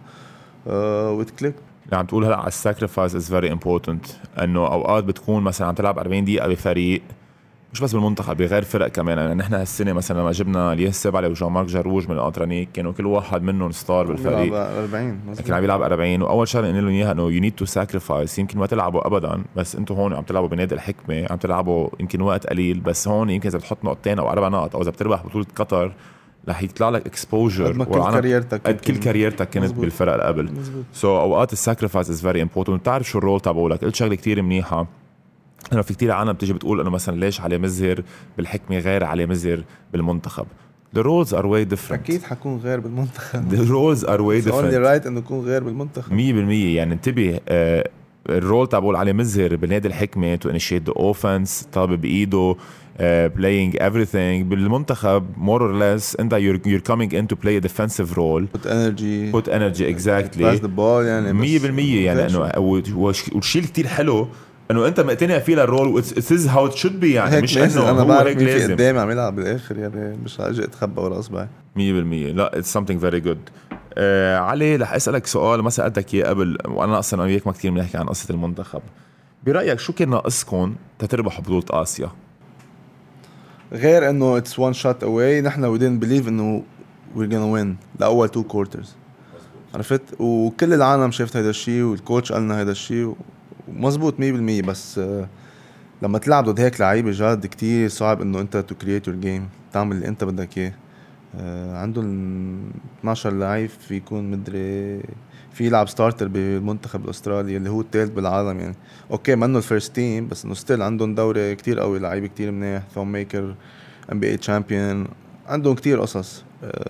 وتكليك اللي عم تقول هلا على الساكريفايس از فيري امبورتنت، انه اوقات بتكون مثلا عم تلعب 40 دقيقه بفريق، مش بس بالمنتخب بغير فرق كمان. يعني نحن هالسنه مثلا لما جبنا الياس سبعلي وجان مارك جروج من الانترانيك، كانوا كل واحد منهم ستار بالفريق، 40 كان عم يلعب 40. واول شغله قلنا لهم اياها انه يو نيد تو ساكريفايس، يمكن ما تلعبوا ابدا بس انتم هون عم تلعبوا بنادي الحكمه، عم تلعبوا يمكن وقت قليل، بس هون يمكن اذا بتحط نقطتين او 4 نقط او اذا بتربح بطوله قطر رح يطلع لك اكسبوجر قد كل كاريرتك كانت مزبوط. بالفرق اللي قبل. سو اوقات الساكريفايس از فيري امبورتنت. بتعرف شو الرول تبعولك. قلت شغله كتير منيحه، انه في كتير عالم بتيجي بتقول انه مثلا ليش علي مزهر بالحكمه غير علي مزهر بالمنتخب. The roles are way different. اكيد حكون غير بالمنتخب. The roles are way different. only right انه يكون غير بالمنتخب 100%. يعني انتبه، الرول تبعول علي مزهر بالنادي الحكمه to initiate the offense، طابة بايده playing everything. بالمنتخب more or less انت you're coming in to play a defensive role, put energy exactly pass the ball يعني 100%. يعني انه والشيء كتير حلو انه انت مقتنع فيه للرول. it is how it should be يعني. مش انه انا هو بعرف هيك مين في لازم قدامي عم يلعب بالاخر يعني، مش اجي اتخبى ورا اصبعي 100%. لا it's something very good. علي رح اسالك سؤال ما سالتك اياه قبل، وانا اصلا وياك ما كتير بنحكي عن قصه المنتخب. برايك شو كان ناقصكم تتربحوا بطوله اسيا؟ غير انه it's one shot away، نحن we didn't believe انه we're gonna win لاول 2 quarters. عرفت وكل العالم شافت هذا الشيء والكوتش قالنا هذا الشيء ومزبوط 100%. بس لما تلعب ضد هيك لعيبه جاد كتير صعب انه انت to create your game، تعمل اللي انت بدك اياه. عندهم 12 لعيب، في يكون مدري في يلعب ستارتر بالمنتخب الاسترالي اللي هو الثالث بالعالم يعني. اوكي منه الفيرست تيم، بس انه ستيل عندهم دوري كتير قوي، لعيبه كتير منيح، ثوم ميكر NBA champion، عندهم كتير قصص.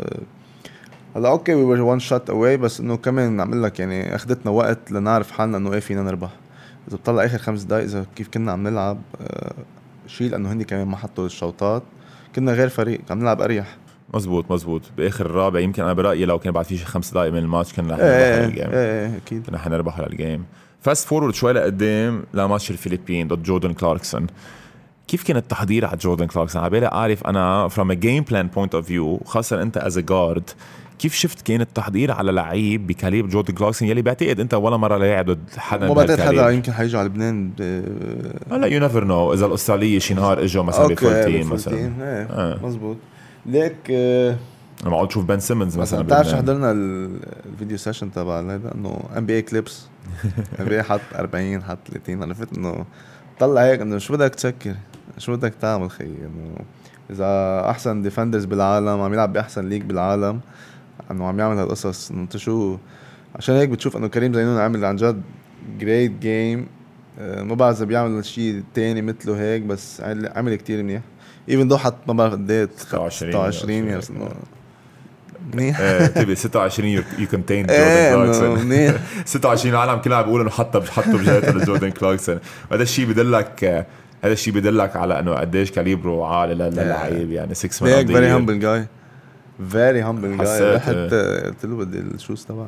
هلا اوكي we were one shot away، بس انه كمان نعمل لك يعني اخذتنا وقت لنعرف حالنا انه ايه فينا نربح. اذا بطلع اخر 5 دقايق اذا كيف كنا عم نلعب شيء، لانه هني كمان ما حطوا الشوطات، كنا غير فريق عم نلعب اريح. مزبوط باخر الرابع يمكن انا برايي لو كان بعد في 5 دقائق من الماتش كان رح نربح الجيم. اكيد كنا حنربح الجيم. فاست فورورد شوي لقدام لماتش الفلبين ضد جوردن كلاركسون. كيف كان التحضير على جوردن كلاركسون؟ عبالي اعرف انا from a game plan point of view، خاصه انت as a guard، كيف شفت كان التحضير على لعيب بكاليب جوردن كلاركسون يلي بعتقد انت ولا مره لاعب ضد حدا؟ ما بعتقد حدا يمكن حيجي على لبنان هلا يو نيفر نو اذا الاستراليه شي نهار اجوا مثلا بفول تيم مثلا. مزبوط. ليك انا بقعد اشوف بن سيمنز مثلا. بتعرف حضرنا الفيديو سيشن تبع هذا انه ام بي اي كليبس، ام بي اي حط 40 حط 30، عرفت انه طلع هيك انه شو بدك تسكر، شو بدك تعمل خي، انه اذا احسن ديفندرز بالعالم عم يلعب باحسن ليج بالعالم انه عم يعمل هالقصص، انه انت شو. عشان هيك بتشوف انه كريم زينون عامل عن جد جريت جيم. ما بعرف اذا بيعمل شيء تاني مثله هيك، بس عمل كتير منيح. ايفن دو حط ما بعرف قد 26 يعني منيح. تبي 26 يو كونتين جوردن كلاركسون. 26 العالم كلها عم بيقولوا انه حطوا بجهته لجوردن كلاركسون. هذا الشيء بدلك على انه قديش كاليبرو عالي للعيب يعني. 6 مان فيري هامبل جاي، فيري هامبل جاي. حتى قلت له بدي الشوز تبعه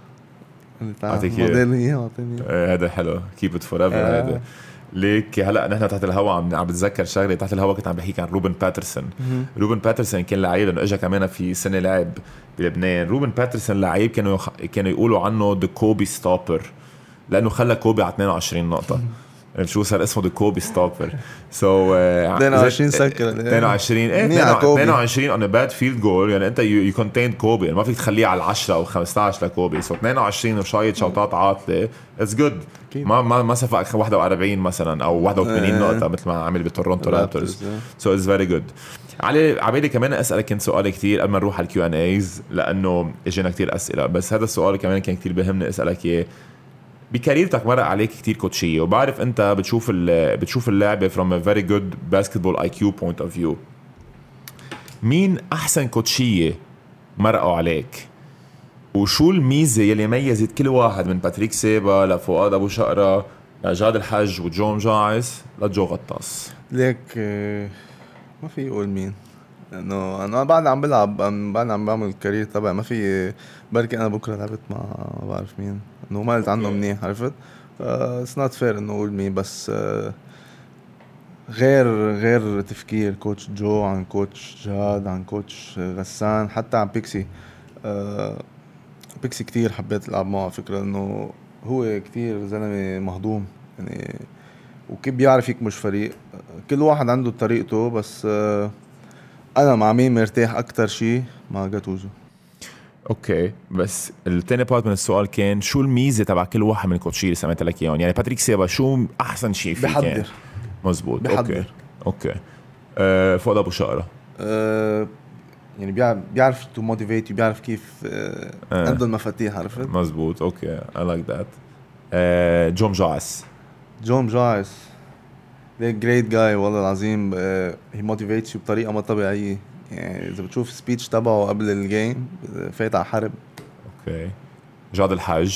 هذا حلو. كيب ات فور ايفر. هذا ليك هلا نحن تحت الهوا عم بتذكر شغله تحت الهوا كنت عم بحكي عن روبن باترسون. روبن باترسون كان لعيب لانه اجى كمان في سنه لعب بلبنان. روبن باترسون لعيب كانوا يقولوا عنه ذا كوبي ستوبر لانه خلى كوبي على 22 نقطه. شو صار اسمه ذا كوبي ستوبر. 22 سكر 22 on a bad field goal يعني انت you contained كوبي يعني ما فيك تخليه على 10 او 15 لكوبي. 22 وشايط شوطات عاطله it's good. ما سفق 41 مثلا او 81 نقطه مثل ما عمل بتورونتو رابترز. so it's very good. علي عبالي كمان اسالك كنت سؤال كتير قبل ما نروح على الكيو ان ايز لانه اجينا كتير اسئله، بس هذا السؤال كمان كان كتير بهمني اسالك اياه. بكاريرتك مرق عليك كتير كوتشيه وبعرف انت بتشوف اللعبه from a very good basketball IQ point of view. مين احسن كوتشيه مرقوا عليك وشو الميزه يلي ميزت كل واحد من باتريك سيبا لفؤاد ابو شقره لجاد الحج وجوم جاعس لجو غطاس؟ ليك ما في يقول مين، انه انا بعد عم بلعب، بعد عم بعمل الكارير تبعي. ما في بركي انا بكره لعبت مع ما بعرف مين انه ما قلت عنه منيح، عرفت. اتس نوت فير انه اقول مين، بس غير تفكير كوتش جو عن كوتش جاد عن كوتش غسان حتى عن بيكسي. بيكسي كتير حبيت العب معه، فكرة انه هو كتير زلمه مهضوم يعني، وكيف بيعرف يكمش فريق. كل واحد عنده طريقته، بس انا مع مين مرتاح اكتر شيء مع جاتوزو. اوكي، بس التاني بارت من السؤال كان شو الميزه تبع كل واحد من الكوتشي اللي سمعت لك اياهم؟ يعني باتريك سيبا شو احسن شيء فيه؟ بحضر. مزبوط. بحضر. اوكي. فؤاد ابو شقره يعني بيعرف تو موتيفيت، بيعرف كيف عنده المفاتيح، عرفت. مزبوط. اوكي I like that. جوم جاعس ليك جريت جاي والله العظيم. هي موتيفيتس بطريقه ما طبيعيه يعني. اذا بتشوف سبيتش تبعه قبل الجيم فايت على حرب. اوكي. جاد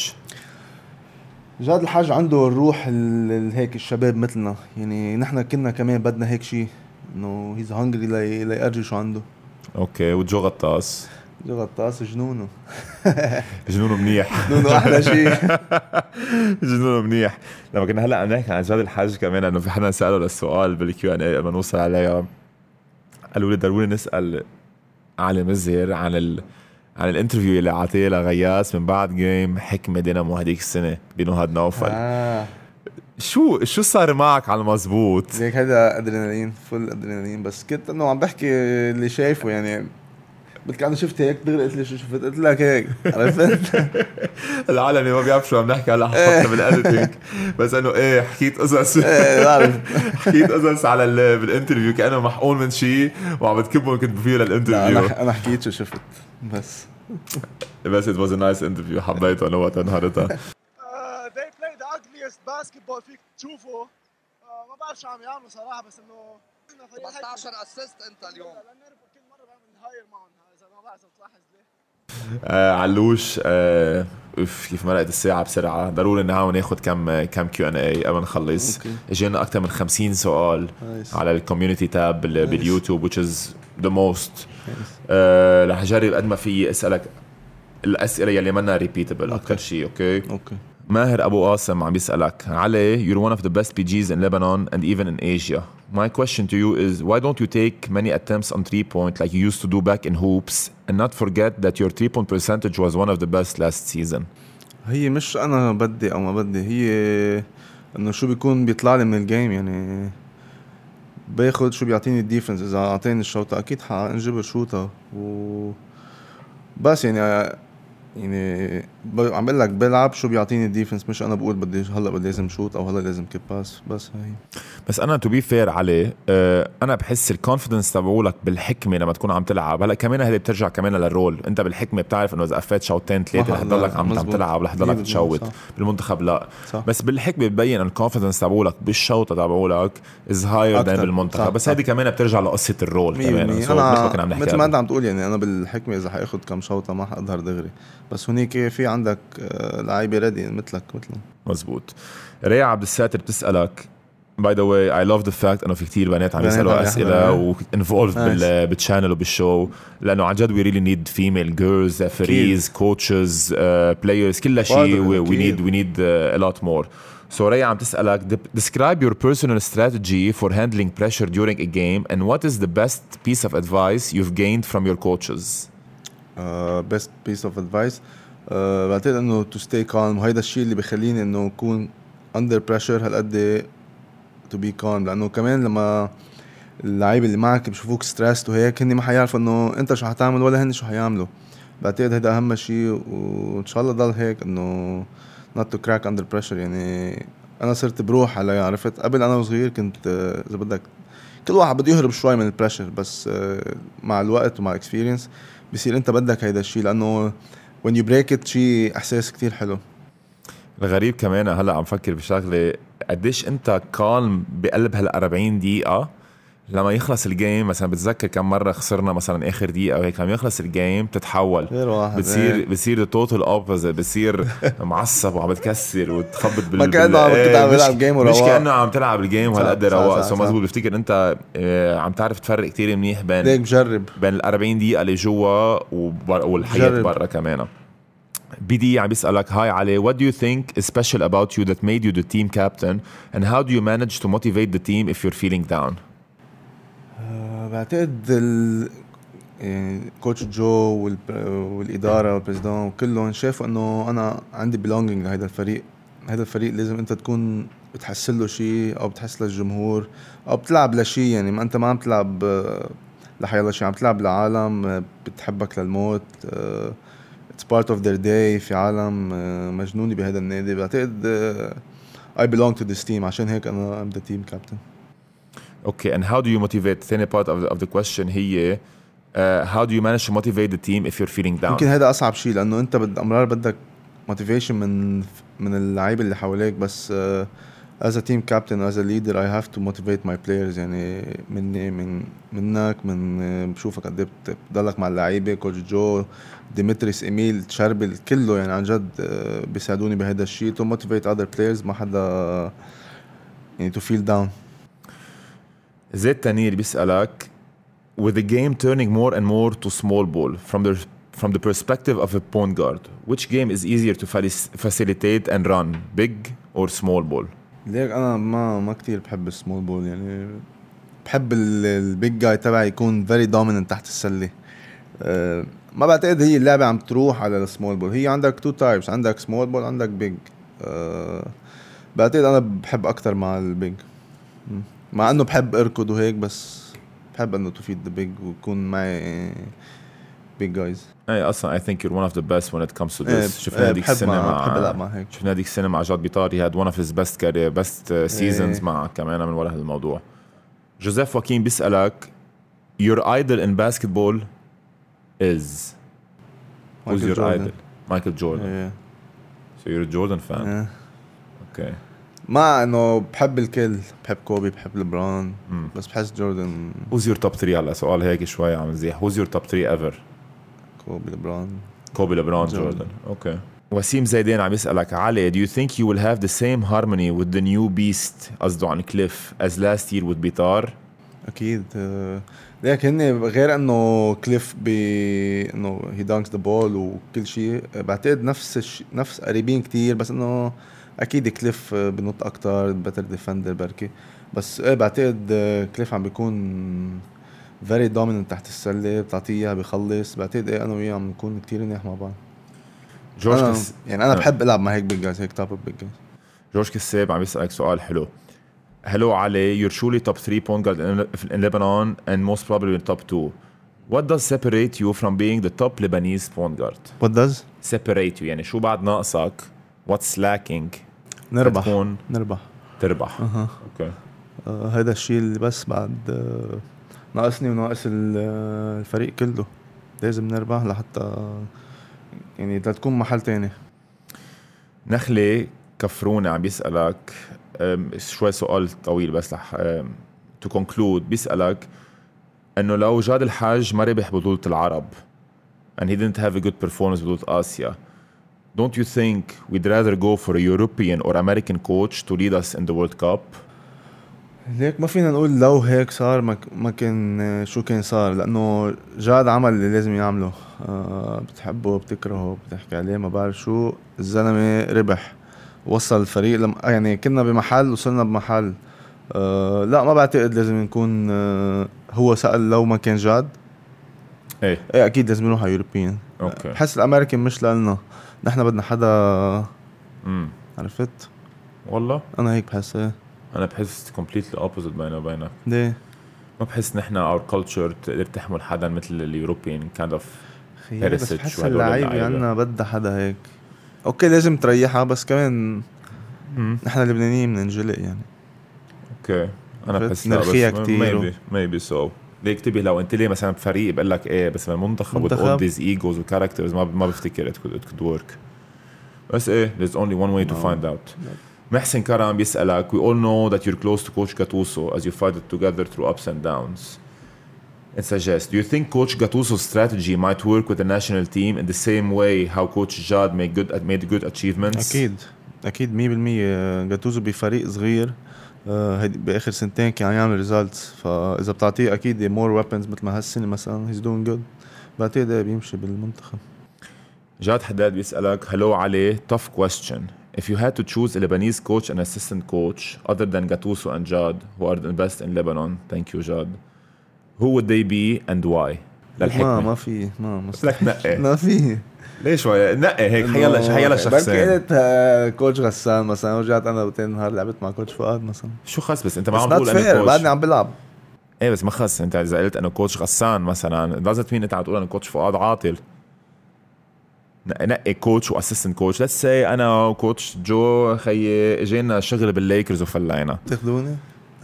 الحاج عنده الروح هيك الشباب مثلنا يعني. نحن كنا كمان بدنا هيك شيء، انه هيز هانجري ليأرجي شو عنده. اوكي. وجو غطاس جنونه جنونه منيح. جنونه احلى شيء. جنونه منيح. لما كنا هلا عم نحكي عن جاد الحاج كمان، انه في حدا ساله للسؤال بالكيو ان اي قبل ما نوصل عليها، قالوا لي ضروري نسال علي مزهر عن الانترفيو اللي عطيه لغياس من بعد جيم حكمه دينامو هديك السنه بنهاد نوفل. شو صار معك على المزبوط؟ هيك هذا ادرينالين، فل ادرينالين. بس كنت انه عم بحكي اللي شايفه يعني. بدك انا شفت هيك دغري قلت لي شو شفت، قلت لك هيك، عرفت. العالم اللي ما بيعرف شو عم نحكي هلا حطنا بالاديتنج، بس انه حكيت قصص. بعرف. حكيت قصص على بالانترفيو كانه محقون من شيء وعم بتكبهم كنت فيه للانترفيو. انا حكيت شو شفت بس it was a nice interview. حبيته انا وقت نهارتها. they play the ugliest basketball فيك تشوفه. ما بعرف شو عم يعملوا صراحه، بس انه 15 اسيست انت اليوم. كل مره بعمل هاير معهم، اذا ما بعرف تلاحظ ليه. علوش كيف مرقت الساعة بسرعة. ضروري نحاول ناخد كم كيو ان اي قبل نخلص. اجينا اكثر من 50 سؤال على الكوميونتي تاب باليوتيوب which is the most. رح أجرب قد ما في أسألك الأسئلة يلي منا repeatable أكثر شيء. أوكي. ماهر أبو قاسم عم بيسألك علي, you're one of the best PGs in Lebanon and even in Asia. My question to you is, why don't you take many attempts on 3-point like you used to do back in hoops and not forget that your 3-point percentage was one of the best last season? هي مش أنا بدي أو ما بدي, هي إنه شو بيكون بيطلع لي من الجيم, يعني باخد شو بيعطيني الديفنس. إذا أعطيني الشوطة أكيد حنجبر شوطة بس يعني عم بقول لك بلعب شو بيعطيني الديفنس, مش انا بقول بدي هلا بدي لازم شوت او هلا لازم كيب باس. بس هي بس انا تو بي فير عليه, انا بحس الكونفيدنس تبعولك بالحكمه لما تكون عم تلعب. هلا كمان هذه بترجع كمان للرول, انت بالحكمه بتعرف انه اذا قفيت شوطين ثلاثه رح تضلك عم تلعب, رح تضلك تشوت. بالمنتخب لا صح. بس بالحكمه ببين الكونفيدنس تبعولك بالشوطه تبعولك از هاير ذان بالمنتخب. بس هذه كمان بترجع لقصه الرول كمان. انا مثل ما انت عم تقول, يعني انا بالحكمه اذا حاخذ كم شوطه ما حاظهر دغري, بس هنيك في عندك لعيبه ريدي مثلهم. مزبوط. ريا عبد الساتر بتسألك, by the way I love the fact انه في كتير بنات عم يسألوا اسئله و involved بالchannel وبالشو, لانه عن جد we really need female girls, referees, coaches, players, كل شيء we need a lot more. So ريا عم تسألك, describe your personal strategy for handling pressure during a game and what is the best piece of advice you've gained from your coaches? best piece of advice بعتقد انه to stay calm, وهيدا الشيء اللي بيخليني انه اكون under pressure هالقد to be calm, لانه كمان لما اللعيبه اللي معك بيشوفوك ستريسد وهيك هني ما حيعرفوا انه انت شو حتعمل ولا هن شو حيعملوا. بعتقد هيدا اهم شيء, وان شاء الله ضل هيك انه not to crack under pressure. يعني انا صرت بروح على, عرفت قبل انا وصغير كنت اذا بدك كل واحد بده يهرب شوي من البريشر, بس مع الوقت ومع الاكسبيرينس بصير انت بدك هيدا الشيء, لانه when you break it شيء احساس كتير حلو. الغريب كمان هلا عم فكر بشغله, قديش انت كالم بقلب هال40 دقيقه لما يخلص الجيم. مثلا بتذكر كم مره خسرنا مثلا اخر دقيقه وهيك, لما يخلص الجيم بتتحول, بتصير توتال اوبوزيت, بتصير معصب وعم بتكسر وتخبط ما كأنه عم تلعب جيم ورواق, مش كأنه عم تلعب الجيم وهالقد رواق. سو مزبوط. بفتكر انت عم تعرف تفرق كتير منيح بين ال40 دقيقه اللي جوا والحياه برا كمان. بدي عم بيسألك, هاي علي, what do you think is special about you that made you the team captain and how do you manage to motivate the team if you're feeling down? بعتقد يعني كوتش جو والإدارة والبريزيدان وكلهم شافوا انه انا عندي belonging لهذا الفريق. هذا الفريق لازم انت تكون بتحسن له شيء او بتحس للجمهور او بتلعب لشيء, يعني ما انت ما عم تلعب لحيالله شيء, عم تلعب لعالم بتحبك للموت. it's part of their day. في عالم مجنوني بهذا النادي. بعتقد I belong to this team, عشان هيك أنا I'm the team captain. Okay, and how do you motivate? ثاني part of the question هي how do you manage to motivate the team if you're feeling down? يمكن هذا أصعب شيء, لأنه أنت أمرار بدك motivation من اللعيبة اللي حواليك, بس as a team captain, as a leader, I have to motivate my players. يعني منك بشوفك قد بتضلك مع اللعيبة, كوتش جو, ديمتريس, إميل, تشربل, كله يعني عن جد بيساعدوني بهذا الشيء to motivate other players. ما حدا يعني to feel down. زيد تانير بيسألك, with the game turning more and more to small ball from the perspective of a point guard, which game is easier to facilitate and run, big or small ball? ليك أنا ما كتير بحب السمول بول, يعني بحب البيج جاي تبعي يكون very dominant تحت السلة. ما بعتقد هي اللعبة عم تروح على السمول بول. هي عندك two types, عندك سمول بول عندك بيج. بعتقد أنا بحب أكتر مع البيج, مع أنه بحب أركض وهيك, بس بحب أنه to feed the big ويكون معي big guys. اي اصلا I think you're one of the best when it comes to this. شفنا هذيك السنة مع جاد بيطاري, had one of his best seasons مع كمان من وراء هالموضوع. جوزيف واكين بيسألك, your idol in basketball is who's your idol? Michael Jordan. So you're a Jordan fan. Okay. ما انه بحب الكل, بحب كوبي, بحب لبران, بس بحس جوردن. who's your top 3؟ هلا سؤال هيك شوي عم نزيح, who's your top 3 ever؟ كوبي, لبران, جوردن. اوكي. وسيم زيدين عم يسألك, علي, do you think you will have the same harmony with the new beast, قصده عن كليف, as last year with بيطار? اكيد ليك هن غير انه كليف انه هي دانكس ذا بول وكل شيء. بعتقد نفس قريبين كتير، بس انه اكيد كليف بنط اكتر، بتر ديفندر بركي. بس بعتقد كليف عم بيكون فيري دوميننت تحت السله، بتعطيها بيخلص. بعتقد انا وياه عم نكون كتير منيح مع بعض. جورج انا بحب العب مع هيك بيج جايز، هيك توب بيج جايز. جورج كساب عم يسألك سؤال حلو. Hello Ali, you're surely top 3 point guard in Lebanon and most probably in top 2. What does separate you from being the top Lebanese point guard? What does Separate you يعني شو بعد ناقصك؟ What's lacking؟ نربح تكون تربح. اوكي. هذا الشيء اللي بس بعد ناقصني وناقص الفريق كله. لازم نربح لحتى يعني تكون محل تاني. نخلة كفرونة عم بيسألك شوي سؤال طويل بس to conclude. بيسألك انه لو جاد الحاج ما ربح بطولة العرب and he didn't have a good performance بطولة آسيا, don't you think we'd rather go for a European or American coach to lead us in the World Cup? ليك ما فينا نقول لو هيك صار ما كان شو كان صار، لأنه جاد عمل اللي لازم يعمله. بتحبه بتكرهه بتحكي عليه ما بعرف شو، الزلمة ربح وصل الفريق يعني كنا بمحل وصلنا بمحل. لا ما بعتقد لازم نكون هو سأل لو ما كان جاد. ايه اكيد لازم نروح على يوروبيان. بحس الامريكان مش لنا، نحن بدنا حدا عرفت. والله انا هيك بحس. انا بحس completely opposite بيني وبينك. ليه؟ ما بحس نحن our culture تقدر تحمل حدا مثل اليوروبيان kind of بس بحس اللعيبة عنا بدها حدا هيك. اوكي لازم تريحها، بس كمان نحن اللبنانيين بننجلق يعني. اوكي انا بحس نرخيها كتير maybe so. ليه اكتبي لو انت ليه مثلا بفريق بقول لك ايه، بس المنتخب with all these egos و characters ما بفتكر it could work. بس ايه there's only one way to find out. محسن كرم بيسألك we all know that you're close to Coach Gattuso as you fight it together through ups and downs. It suggests, do you think Coach Gattuso's strategy might work with the national team in the same way how Coach Jad made good achievements? أكيد 100%. جاتوزو بفريق صغير بآخر سنتين كان عم يعمل ريزالتس، فإذا بتعطيه أكيد more weapons مثل ما هالسنة مثلا he's doing good. بعتقد بيمشي بالمنتخب. جاد حداد بيسألك hello علي, tough question. If you had to choose a Lebanese coach and assistant coach other than Gattuso and Jad who are the best in Lebanon, thank you Jad, who would they be and why? للحكمة ما في لك نقي. ما في ليش نقي هيك حيلا شخصين. بركي كوتش غسان مثلا ورجعت انا وتاني نهار لعبت مع كوتش فؤاد مثلا. شو خص بس انت ما عم تقول انا كوتش بعدني عم بلعب. ايه بس ما خص انت اذا قلت انا كوتش غسان مثلا لازم مين انت عم تقول انا كوتش فؤاد عاطل. نقي كوتش واسيستنت كوتش. ليتس سي انا وكوتش جو خيي اجينا شغل بالليكرز وفلينا تاخذوني.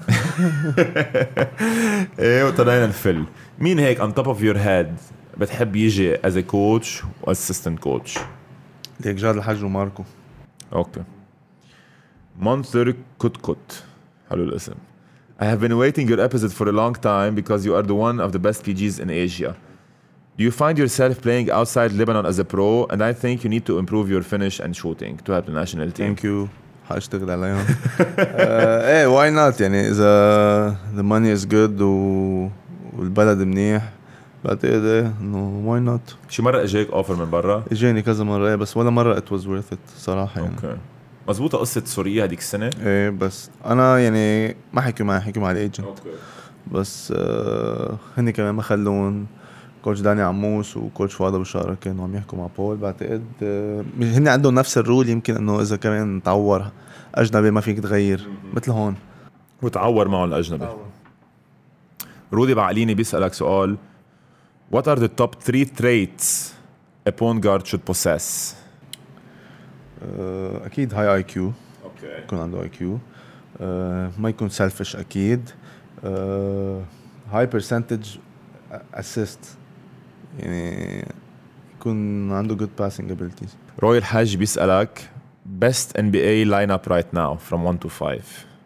ايه وطلعنا الفل. مين هيك on top of your head بتحب يجي as a coach و assistant coach؟ ليك جاد الحاج وماركو. اوكي. منثر كوت حلو الاسم. I have been waiting your episode for a long time because you are the one of the best PGs in Asia. Do you find yourself playing outside Lebanon as a pro? And I think you need to improve your finish and shooting to help the national team. Thank you. هاشتغل عليهم. ايه why not يعني إذا the money is good والبلد منيح بعتقد انه why not. شي مرة اجاك اوفر من برا؟ اجاني كذا مرة بس ولا مرة it was worth it صراحة يعني. اوكي. مزبوطة قصة سوريا هديك السنة؟ ايه بس انا يعني ما حكوا مع الايجنت. اوكي. بس هني كمان ما خلون كوتش داني عموس وكوتش فؤاد ابو شقرة كانوا عم يحكوا مع بول. بعتقد هني عندهم نفس الرول، يمكن انه اذا كمان تعور اجنبي ما فيك تغير مثل هون وتعور معه الاجنبي. رودي بعقليني بيسألك سؤال. What are the top 3 traits a point guard should possess? اكيد هاي IQ. اوكي. يكون عنده IQ. ما يكون selfish اكيد. high percentage assist يعني يكون عنده good passing abilities. روي الحاج بيسألك best NBA lineup right now from 1 to 5.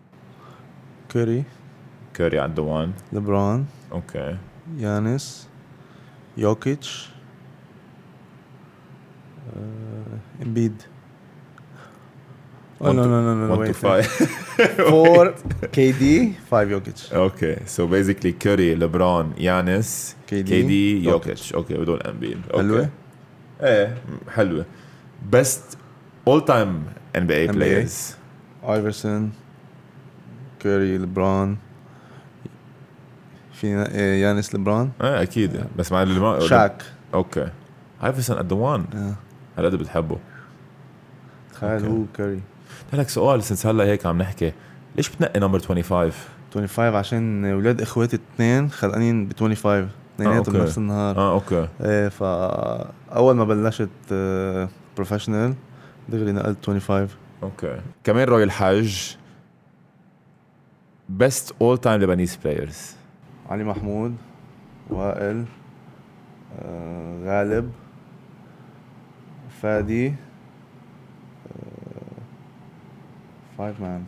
كوري عنده 1. لبران. اوكي. يانس. يوكيتش. امبيد. no, 1 to wait. 5. 4 KD 5 يوكيتش. Okay, so basically Curry, LeBron, Giannis, KD, Jokic. Okay, ودول أمبين. حلوة؟ إيه حلوة. Best all time NBA players. ايفرسون، كوري، لبران، في يانس لبران. أكيد بس مع اللي شاك. Okay. Iverson at the one. هل قد بتحبه؟ تخيل هو كوري. لك سؤال since هلا هيك عم نحكي، ليش بتنقي نمبر 25؟ 25 عشان ولاد اخواتي اثنين خلقانين ب 25 اثنيناتهم بنفس النهار. اوكي. ايه فاول ما بلشت بروفيشنال دغري نقلت 25. اوكي. كمان روي الحاج best all time Lebanese players. علي محمود، وائل، غالب، فادي، 5 مان.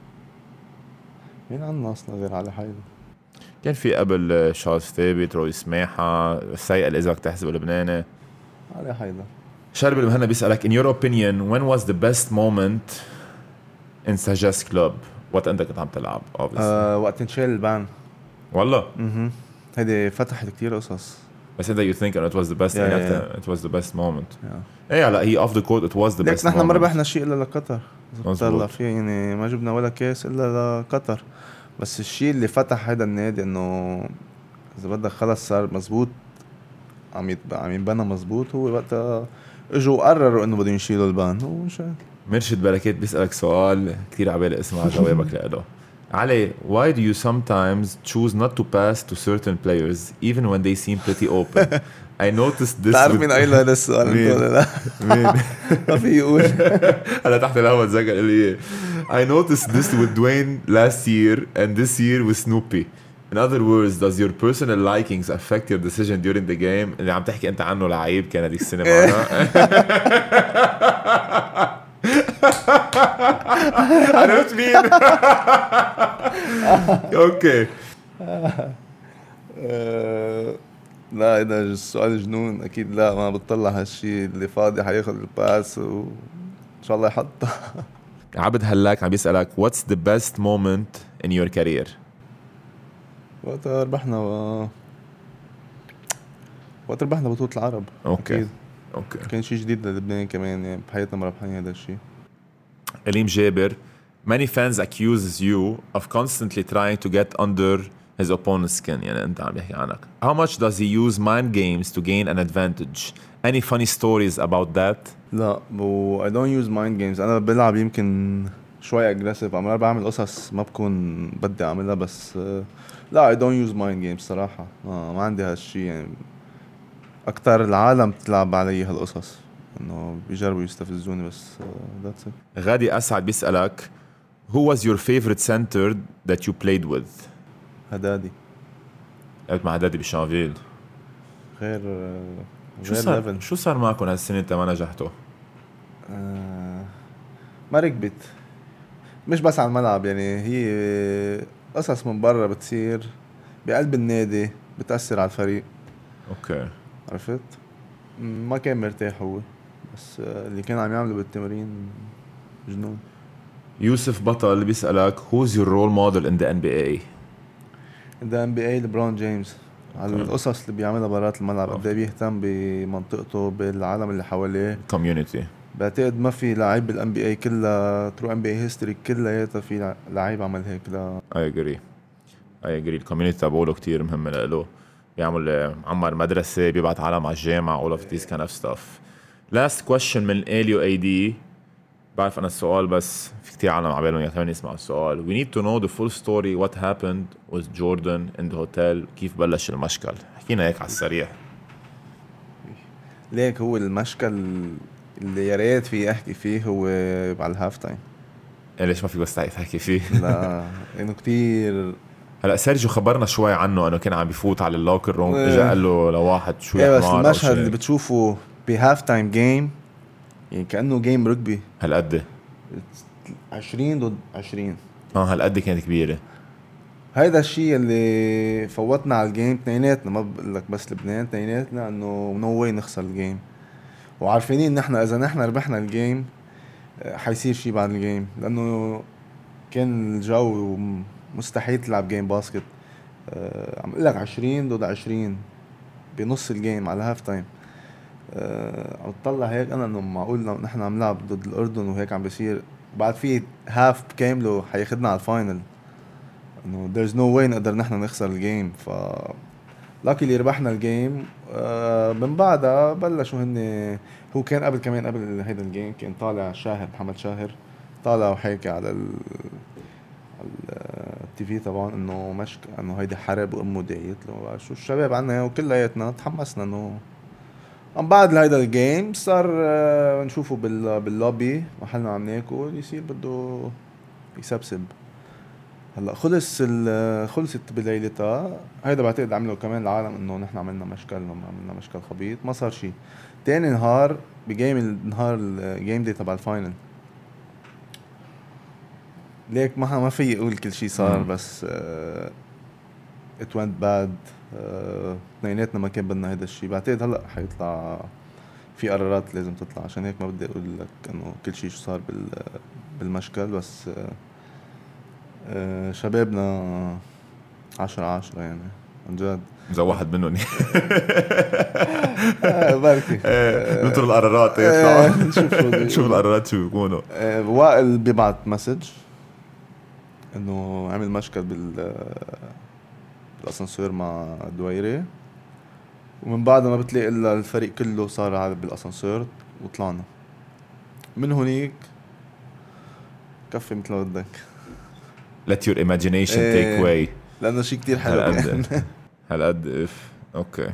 مين عنا اصلا غير علي حيدر؟ كان في قبل شارلز ثابت، روي سماحة، سيئل إذا بدك تحسب لبناني. علي حيدر. شارب المهنا بيسألك in your opinion when was the best moment in Sagesse Club؟ وقت أنت كنت عم تلعب وقت انشال البان. والله؟ هيدي فتحت كتير قصص. بس أنت you think it was the best yeah. it was the best moment. إيه لا هي off the court it was the best moment. نحن ما ربحنا شيء إلا لقطر. طلع فيه يعني ما جبنا ولا كاس إلا لقطر. بس الشيء اللي فتح هذا النادي إنه إذا بدك خلص صار مزبوط، عم يتبنى مزبوط. هو وقتها اجوا قرروا إنه بدهم يشيلوا البان. هو شيء. مرشد بركات بيسألك سؤال كتير عبالي اسمع جوابك له. علي, why do you sometimes choose not to pass to certain players even when they seem pretty open? I noticed this. تعرف مين قايل هذا السؤال؟ مين؟ ما في يقول. هلا تحت الهوا تذكر لي. I noticed this with Dwayne last year and this year with Snoopy. In other words, does your personal likings affect your decision during the game? اللي عم تحكي انت عنه لعيب كان هذيك السنة معنا. عرفت مين؟ اوكي. لا إذا السؤال جنون أكيد لا، ما بتطلع هالشي. اللي فاضي حياخد الباس وإن شاء الله يحطها. عبد هلاك عم بيسألك what's the best moment in your career؟ وقت ربحنا بطولة العرب. اوكي أكيد. اوكي. كان شيء جديد للبنان كمان، يعني بحياتنا ما ربحنا هذا الشيء. إليم جابر many fans accuses you of constantly trying to get under his opponent's skin. يعني أنت عم بيحكي عنك. How much does he use mind games to gain an advantage? Any funny stories about that? لا I don't use mind games. أنا بلعب يمكن شوي aggressive. أنا بعمل قصص ما بكون بدي أعملها بس لا I don't use mind games صراحة. ما عندي هالشي. يعني أكتر العالم تلعب علي هالقصص إنه بيجربوا يستفزوني بس that's it. غادي أسعد بيسألك who was your favorite center that you played with؟ هدادي. لعبت مع هدادي بشانفيل. غير شو صار معكم هالسنة انت ما نجحتوا؟ ما ركبت. مش بس على الملعب، يعني هي قصص من برا بتصير بقلب النادي بتأثر على الفريق. اوكي. عرفت؟ ما كان مرتاح هو، بس اللي كان عم يعمله بالتمرين جنون. يوسف بطل اللي بيسألك who's your role model in the NBA؟ ده NBA لبرون جيمس. على القصص اللي بيعملها برات الملعب، قد ايه بيهتم بمنطقته بالعالم اللي حواليه community. بعتقد ما في لاعب بالان بي اي كلها ترو ان بي اي هيستوري كلياتها في لاعب عمل هيك. لا I agree الكوميونيتي تبعوله كتير مهم له. بيعمل عمر مدرسة، بيبعت عالم على الجامعة all of this kind of stuff. last question من اليو اي دي. بعرف أنا السؤال بس في كتير عالم عبالهم يكمل يسمعوا السؤال. We need to know the full story what happened with Jordan in the hotel. كيف بلش المشكل؟ حكينا هيك على السريع. ليك هو المشكل اللي يا ريت في احكي فيه هو على الهاف تايم. ليش ما في بس تحكي فيه؟ لا انه كتير. هلا سيرجيو خبرنا شوي عنه انه كان عم بيفوت على اللوكر روم، اجى قال له لواحد شو يحمار. بس المشهد اللي بتشوفه بهاف تايم جيم يعني كأنه جيم رجبي. هالقد 20 ضد 20. هالقد كانت كبيرة. هيدا الشيء اللي فوتنا على الجيم تنيناتنا. ما بقول لك بس لبنان، تنيناتنا انه نو واي نخسر الجيم، وعارفين ان احنا اذا نحن ربحنا الجيم حيصير شي بعد الجيم، لانه كان الجو مستحيل تلعب جيم باسكت. عم اقول لك 20 ضد 20 بنص الجيم على هاف تايم. عم تطلع هيك انا انه معقول نحن عم نلعب ضد الاردن وهيك عم بيصير بعد في هاف كامله حياخدنا على الفاينل، انه there's no way نقدر نحن نخسر الجيم. ف لاكي اللي ربحنا الجيم. من بعدها بلشوا هن. هو كان قبل كمان قبل هيدا الجيم كان طالع شاهر محمد شاهر طالع وحكي على التي في طبعا انه مشك انه هيدي حرب وامه دعيت له شو الشباب عنا وكلياتنا تحمسنا انه عم بعد هيدا الجيم صار نشوفه باللوبي محلنا عم ناكل يصير بده يسبسب. هلا خلصت بليلتها. هيدا بعتقد عملوا كمان العالم انه نحن عملنا مشكل خبيط. ما صار شيء. تاني نهار النهار الجيم دي تبع الفاينل ليك ما في اقول كل شيء صار بس it went bad. اثنيناتنا ما كان بدنا هيدا الشيء. بعتقد هلا حيطلع في قرارات لازم تطلع عشان هيك ما بدي اقول لك انه كل شيء شو صار بالمشكل بس شبابنا 10/10 يعني عن جد. إذا واحد منهم بركي ننطر القرارات يطلع نشوف القرارات شو بيكونوا. وائل بيبعت مسج انه عمل مشكل بالاسانسير مع دويري ومن بعد ما بتلاقي الا الفريق كله صار عالب بالاسانسير وطلعنا من هونيك. كفي مثل ما بدك. let your imagination take way لانه شيء كتير حلو يعني. هالقد اوكي.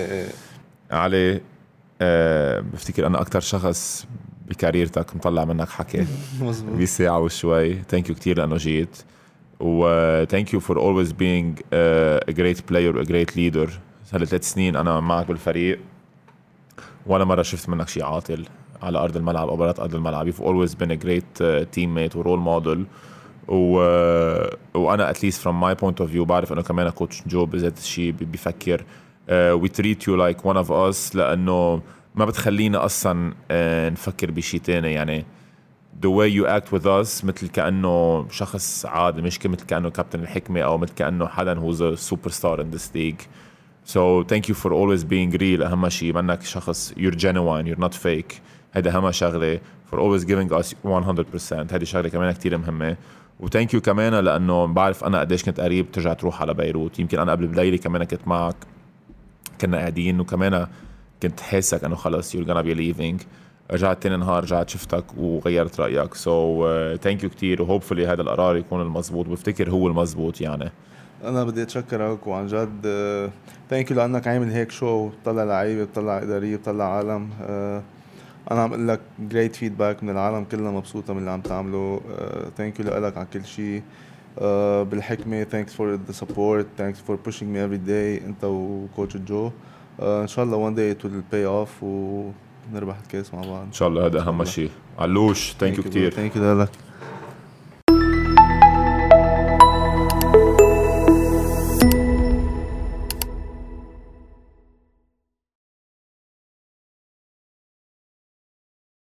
علي بفتكر انا اكتر شخص بكاريرتك مطلع منك حكي بساعة وشوي. thank you كتير لانه جيت و thank you for always being a great player a great leader. هلا 3 سنين انا معك بالفريق ولا مرة شفت منك شيء عاطل على ارض الملعب او برات ارض الملعب. you've always been a great teammate و role model وانا at least from my point of view بعرف انه كمان كوتش جو بذات الشيء بيفكر we treat you like one of us لانه ما بتخلينا اصلا نفكر بشيء تاني. يعني the way you act with us مثل كأنه شخص عادي مش مثل كأنه كابتن الحكمة او مثل كأنه حدا who's a superstar in this league. so thank you for always being real. اهم شيء منك شخص you're genuine you're not fake. هيدا اهم شغلة for always giving us 100%. هيدي شغلة كمان كتير مهمة. وتانك يو كمان لانه بعرف انا قديش كنت قريب ترجع تروح على بيروت. يمكن انا قبل بليلة كمان كنت معك كنا قاعدين وكمان كنت حاسك انه خلص you're gonna be leaving. رجعت تاني نهار رجعت شفتك وغيرت رأيك. so thank you كتير و hopefully هذا القرار يكون المزبوط. بفتكر هو المزبوط يعني. انا بدي اتشكرك وعن جد ثانك يو لانك عامل هيك شو بتطلع لعيبه بتطلع اداريه بتطلع عالم. انا عم اقول لك جريت فيدباك من العالم كلها مبسوطه من اللي عم تعمله. ثانك يو لك على كل شيء. بالحكمه ثانكس فور ذا سبورت ثانكس فور بوشينج مي افري داي انت وكوتش جو. ان شاء الله وان داي ات ويل باي اوف ونربح الكاس مع بعض ان شاء الله. هذا اهم شيء. علوش ثانك يو كتير. ثانك يو لك.